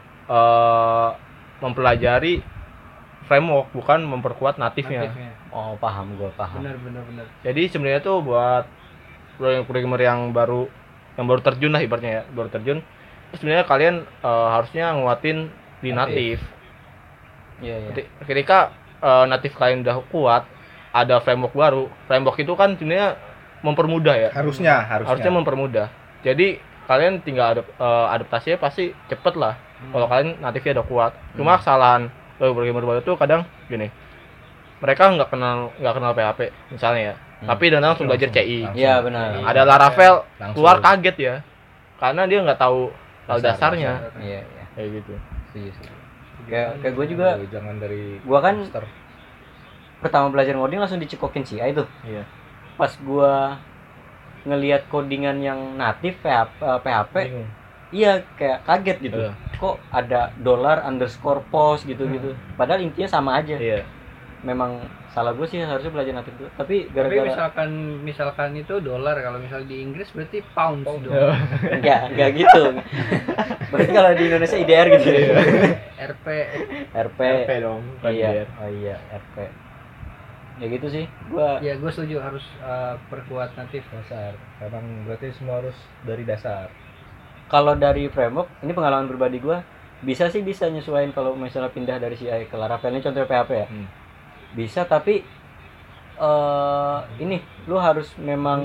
mempelajari framework bukan memperkuat natifnya. Natifnya. Oh, paham, gue paham. Benar. Jadi sebenarnya tuh buat programmer yang baru terjun lah ibaratnya ya, baru terjun. Sebenarnya kalian harusnya nguatin di natif. Iya, iya. Ketika natif kalian udah kuat, ada framework baru. Framework itu kan sebenarnya mempermudah ya. Harusnya. Harusnya mempermudah. Jadi kalian tinggal adaptasinya pasti cepet lah. Kalau kalian natifnya udah kuat. Cuma kesalahan programmer baru tuh kadang gini. Mereka nggak kenal PHP misalnya ya. Tapi dan langsung belajar CI. Iya, benar. Ada Laravel Langsung. keluar kaget ya. Karena dia nggak tahu dasarnya. Iya, iya. Kayak gitu. Setuju. Kayak gue juga, Jangan dari gue kan master. pertama belajar ngoding langsung dicekokin CI tuh. Iya. Pas gue ngelihat codingan yang natif PHP, Bingung. iya kayak kaget gitu. Iya. Kok ada $_post gitu-gitu. Padahal intinya sama aja. Iya. Memang salah gue sih, harusnya belajar natif dulu. Tapi Tapi gara-gara misalkan itu dolar, kalau misal di Inggris berarti pounds dong. enggak gitu. Berarti kalau di Indonesia IDR gitu. RP. RP. RP dong. Iya. Oh iya, RP. Ya gitu sih. Gua Ya gue setuju harus perkuat natif. Dasar. Emang berarti semua harus dari dasar. kalau dari framework, ini pengalaman pribadi gua, bisa nyesuaiin kalau misalnya pindah dari CI ke Laravel. Ini contoh PHP ya. Bisa, tapi ini lu harus memang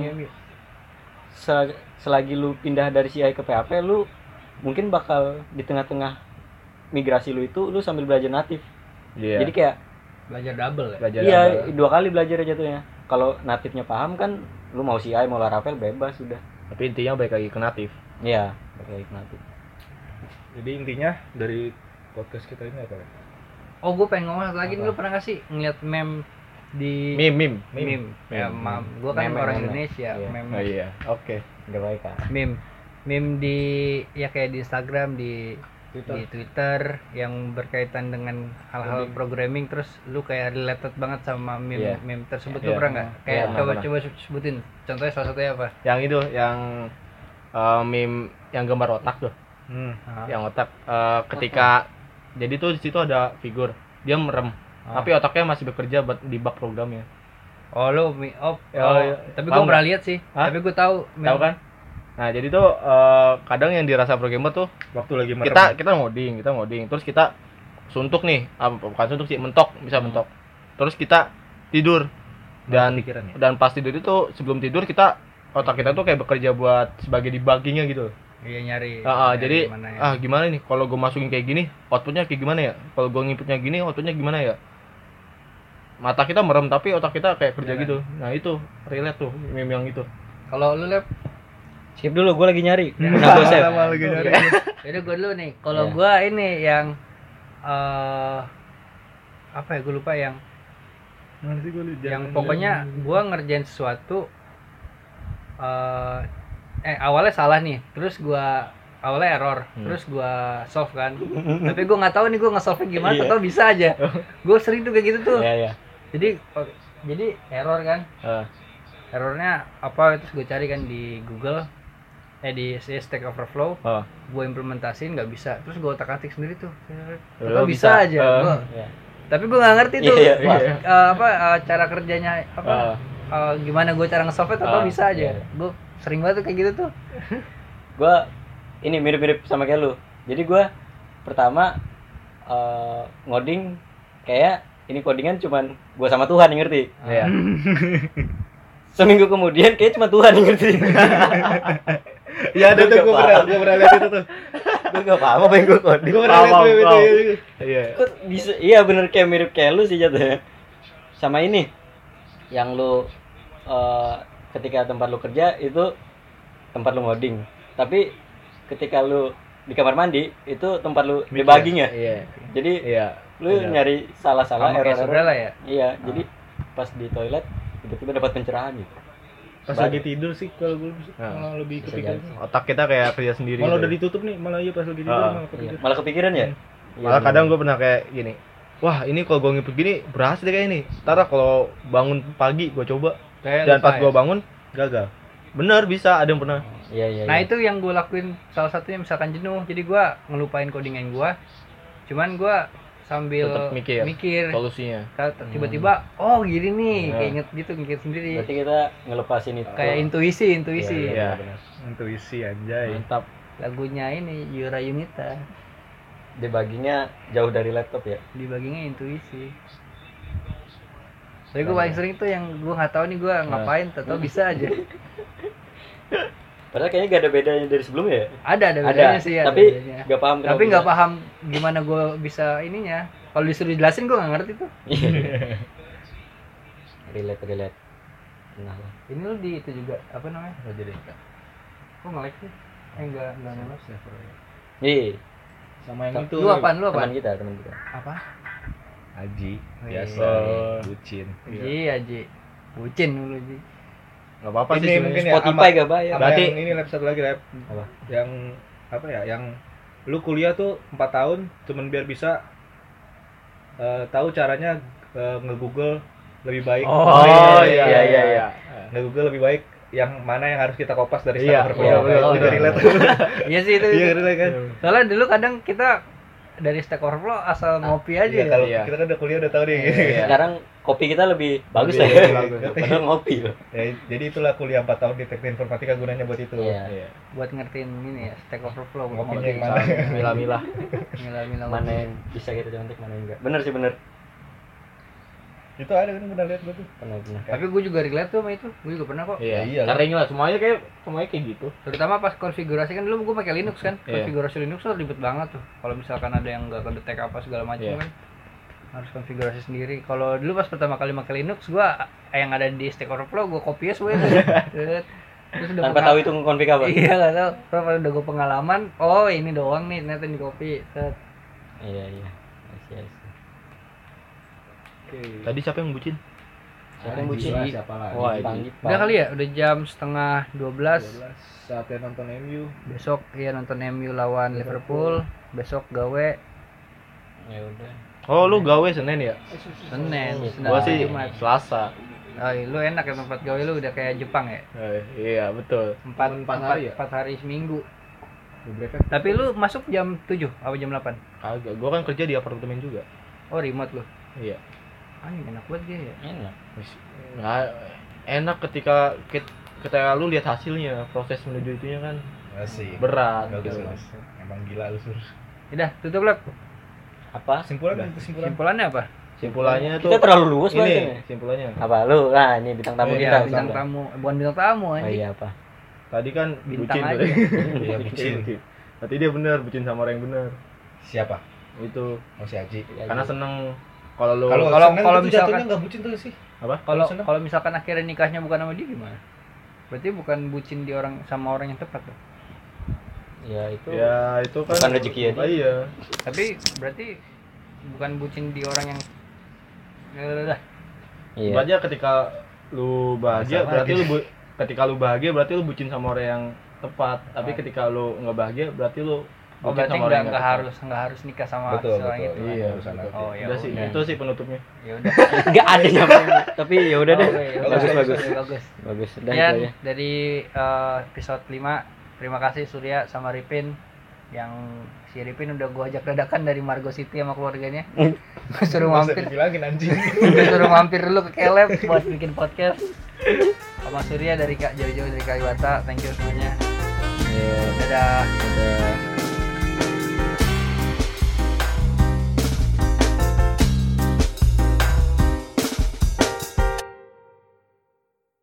selagi lu pindah dari CI ke PHP, lu mungkin bakal di tengah-tengah migrasi lu itu lu sambil belajar natif. Iya. Jadi kayak Belajar double ya. Belajar iya, double. 2 kali belajar jatuhnya. Kalau natifnya paham kan lu mau CI mau Laravel bebas sudah. Tapi intinya balik lagi ke natif. Iya, balik natif. Jadi intinya dari podcast kita ini apa ya? Oh, gue pengen ngomong satu lagi. Apa? Lu pernah gak sih ngeliat meme di Meme. Ya, gue kan Meme, orang meme. Indonesia. Iya. Meme. Oh iya. Oke. Enggak baik kan. Meme di ya kayak di Instagram, di Twitter yang berkaitan dengan hal-hal programming, terus lu kayak related banget sama Iya. meme tersebut. Iya. Lu pernah nggak? Kayak Iya, coba sebutin. Contohnya salah satunya apa? Yang itu yang meme yang gambar otak tuh. Yang otak ketika jadi tuh di situ ada figur dia merem. Tapi otaknya masih bekerja buat debug programnya. Oh, lu iya. tapi gue Paham pernah lihat sih. Hah? Tapi gue tahu Tahu kan? Nah, jadi tuh kadang yang dirasa pro gamer tuh Waktu lagi merem. kita ngoding, terus kita suntuk nih, bukan suntuk sih, mentok, bisa mentok. Terus kita tidur dan Pikiran ya. dan pas tidur itu sebelum tidur otak kita tuh kayak bekerja buat sebagai debuggingnya gitu. Iya nyari. Jadi gimana ya. gimana nih kalau gue masukin kayak gini, outputnya kayak gimana ya? Kalau gue nginputnya gini, outputnya gimana ya? Mata kita merem tapi otak kita kayak kerja Iya kan? gitu. Nah itu relate tuh meme yang itu. Kalau lu Lep, Skip dulu, gue lagi nyari. Nah, gue save. Lama lagi nyari. jadi gue dulu nih. Kalau Iya. gua ini yang apa ya, gue lupa yang Mana sih gua liat yang jalan- pokoknya gua ngerjain sesuatu awalnya salah nih, terus gua awalnya error, terus gua solve kan, tapi gua nggak tahu nih gua nge-solve gimana, Iya. atau bisa aja. Gua sering tuh kayak gitu tuh. Iya, iya. Jadi error kan, errornya apa, terus gue cari kan di Google, di Stack Overflow, gue implementasiin nggak bisa, terus gue otak-atik sendiri tuh, atau bisa aja. Iya. Tapi gue nggak ngerti tuh Iya, cara kerjanya apa, gimana gue cara nge-solve atau bisa aja. Iya. Gue sering banget tuh kayak gitu tuh. Gue ini mirip-mirip sama kayak lu. Jadi gue pertama ngoding kayak ini codingan cuman gue sama Tuhan yang ngerti. Iya. Seminggu kemudian kayak cuma Tuhan yang ngerti. Iya ada tuh, gua pernah lihat itu tuh. Gue gak paham apa yang gue coding. Gua pernah lihat tuh itu. Iya. Kok bisa? Iya bener, kayak mirip kayak lu sih jatuhnya. Sama ini yang lu ketika tempat lu kerja itu tempat lu ngoding, tapi ketika lu di kamar mandi itu tempat lu debugging ya. Iya. Jadi Iya. lu nyari salah-salah, Sama kayak saudara ya. Iya, jadi pas di toilet tiba-tiba dapat pencerahan gitu. Pas lagi tidur sih kalau gua malah lebih Bisa kepikiran. jadi. Otak kita kayak kerja sendiri. Malah gitu. udah ditutup nih, malah iya pas lagi tidur Ah, malah Iya. kepikiran. Malah kepikiran ya? Malah kadang gue pernah kayak gini, wah ini kalau gue ngikut gini berhasil deh kayak ini. Ntar kalau bangun pagi gue coba, dan pas gue bangun Gagal. bener bisa, ada yang pernah. Iya. Nah itu yang gue lakuin salah satunya, misalkan jenuh, jadi gue ngelupain codingan gue, cuman gue sambil Tetep mikir solusinya. tiba-tiba oh gini nih, Iya. kayak inget gitu, mikir sendiri, Berarti kita ngelepasin itu. kayak intuisi. Iya. benar. Intuisi anjay. Mantap. Lagunya ini Yura Yunita, Debuggingnya jauh dari laptop ya. dibaginya intuisi. Tapi gue paling sering tuh yang gue nggak tahu nih gue ngapain, atau bisa aja. Padahal kayaknya gak ada bedanya dari sebelumnya ya. Ada bedanya sih, ada tapi bedanya. gak paham kenapa Tapi nggak bisa. paham gimana gue bisa ininya. Kalau disuruh jelasin gue nggak ngerti tuh. relate. Nah, Ini lu di itu juga apa namanya? Oh jadi. Kok nge-lag sih? Enggak nge-lag. iya, Sama yang itu. Lu apaan? teman kita. Apa? Aji, Oh, biasa, iya. bucin. Iya, Ji. Bucin dulu, Ji. Gak apa-apa sih Ini sebenarnya. mungkin ya, Spotify gak bayar. Sama Berarti- yang ini lab satu lagi lab. Apa? Yang apa ya? Yang lu kuliah tuh 4 tahun cuman biar bisa tahu caranya nge-Google lebih baik. Oh iya. Nge-Google lebih baik yang mana yang harus kita kopas dari Iya, Stack Overflow. iya, betul, Itu betul. relate. Iya sih itu. Iya, relate kan? Soalnya dulu kadang kita dari Stack Overflow asal ngopi aja. Iya, Ya. kalau Iya. kita kan udah kuliah udah tahu nih. Iya. Sekarang kopi kita lebih bagus Lebih lah ya. bagus. Padahal ngopi loh. Ya, jadi itulah kuliah 4 tahun di teknik informatika gunanya buat itu. Iya. Buat ngertiin ini ya, Stack Overflow. Ngopinya Ngopi. yang mana? Milah-milah. Mila-mila. Mana yang bisa kita contek, mana yang enggak. Bener sih, bener. Itu ada kan pernah lihat gua tuh. Bener. Tapi gue juga relate tuh sama itu. Gue juga pernah kok. Iya. Iya. Sering lah, semuanya kayak gitu. Terutama pas konfigurasi kan dulu gue pakai Linux kan. Iya. Konfigurasi Linux tuh ribet banget tuh. Kalau misalkan ada yang nggak kedetek apa segala macam Iya. kan, harus konfigurasi sendiri. Kalau dulu pas pertama kali pakai Linux, gue yang ada di Stack Overflow gue copy semua itu. Terus udah Tanpa tahu itu ngonfig apa. Iya nggak tahu. Terus pas udah gue pengalaman, oh ini doang nih ternyata di copy. Iya. I see. Oke. Tadi siapa yang bucin? Siapa yang bucin? Siapa lagi? Wah, Ipang. Udah kali ya, udah jam setengah 12. 12 saatnya nonton MU. Besok ya nonton MU lawan Liverpool. Besok gawe Ya udah. Oh, lu gawe Senin ya? Senin. Gua sih Jumat. Selasa. Oh, lu enak ya tempat gawe lu udah kayak Jepang ya. Iya, betul. Empat hari ya? 4 hari seminggu. Beberapa. Tapi lu masuk jam 7 apa jam 8? Kagak, gua kan kerja di apartemen juga. Oh, remote lu. Iya. Anjing enak banget dia ya. Enak. Nggak enak ketika ketika lu lihat hasilnya, proses menuju itunya kan Asik. berat Bagus, gitu. bagus. Emang gila lu, Sur. Udah, tutup Lep. Apa? Kesimpulan. Simpulannya apa? Simpulannya tuh Kita terlalu luas ini bahasanya. simpulannya. Apa lu? Nah, ini bintang tamu Oh, kita. iya, Bintang Bang. tamu, bukan bintang tamu Oh anjing. iya apa? Tadi kan Bintang bucin aja. tadi. Iya, bucin. Berarti dia benar bucin sama orang yang benar. Siapa? Itu Oh, si Aji. karena seneng kalau lu Kalau kalau kalau misalkan- misalkan nggak bucin tuh sih. apa? Kalau senang. kalau misalkan akhirnya nikahnya bukan sama dia gimana? Berarti bukan bucin di orang sama orang yang tepat dong. Ya itu. Ya itu kan Bukan rezeki ya dia. Iya. Tapi berarti bukan bucin di orang yang udah. Iya. Berarti ketika lu bahagia Sama berarti lagi. ketika lu bahagia berarti lu bucin sama orang yang tepat. Tapi ketika lu nggak bahagia berarti lu Oh, bucin berarti sama orang yang nggak tepat. harus nikah sama Betul, seorang betul. itu. Iya, Urusan betul. hati. Oh, ya Udah sih, udah. itu sih penutupnya. Ya udah. Enggak ada yang tapi ya udah deh. Oke, ya udah. Bagus bagus. Bagus. Bagus. Udah Sekian itu aja. dari episode 5. Terima kasih Surya sama Ripin yang si Ripin udah gua ajak dadakan dari Margo City sama keluarganya. Gua suruh Masa mampir, dibilangin anjing. gua suruh mampir dulu ke Kelep buat bikin podcast. Sama Surya dari Kak jauh-jauh dari Kalibata. Thank you semuanya. Iya. Dadah. Udah.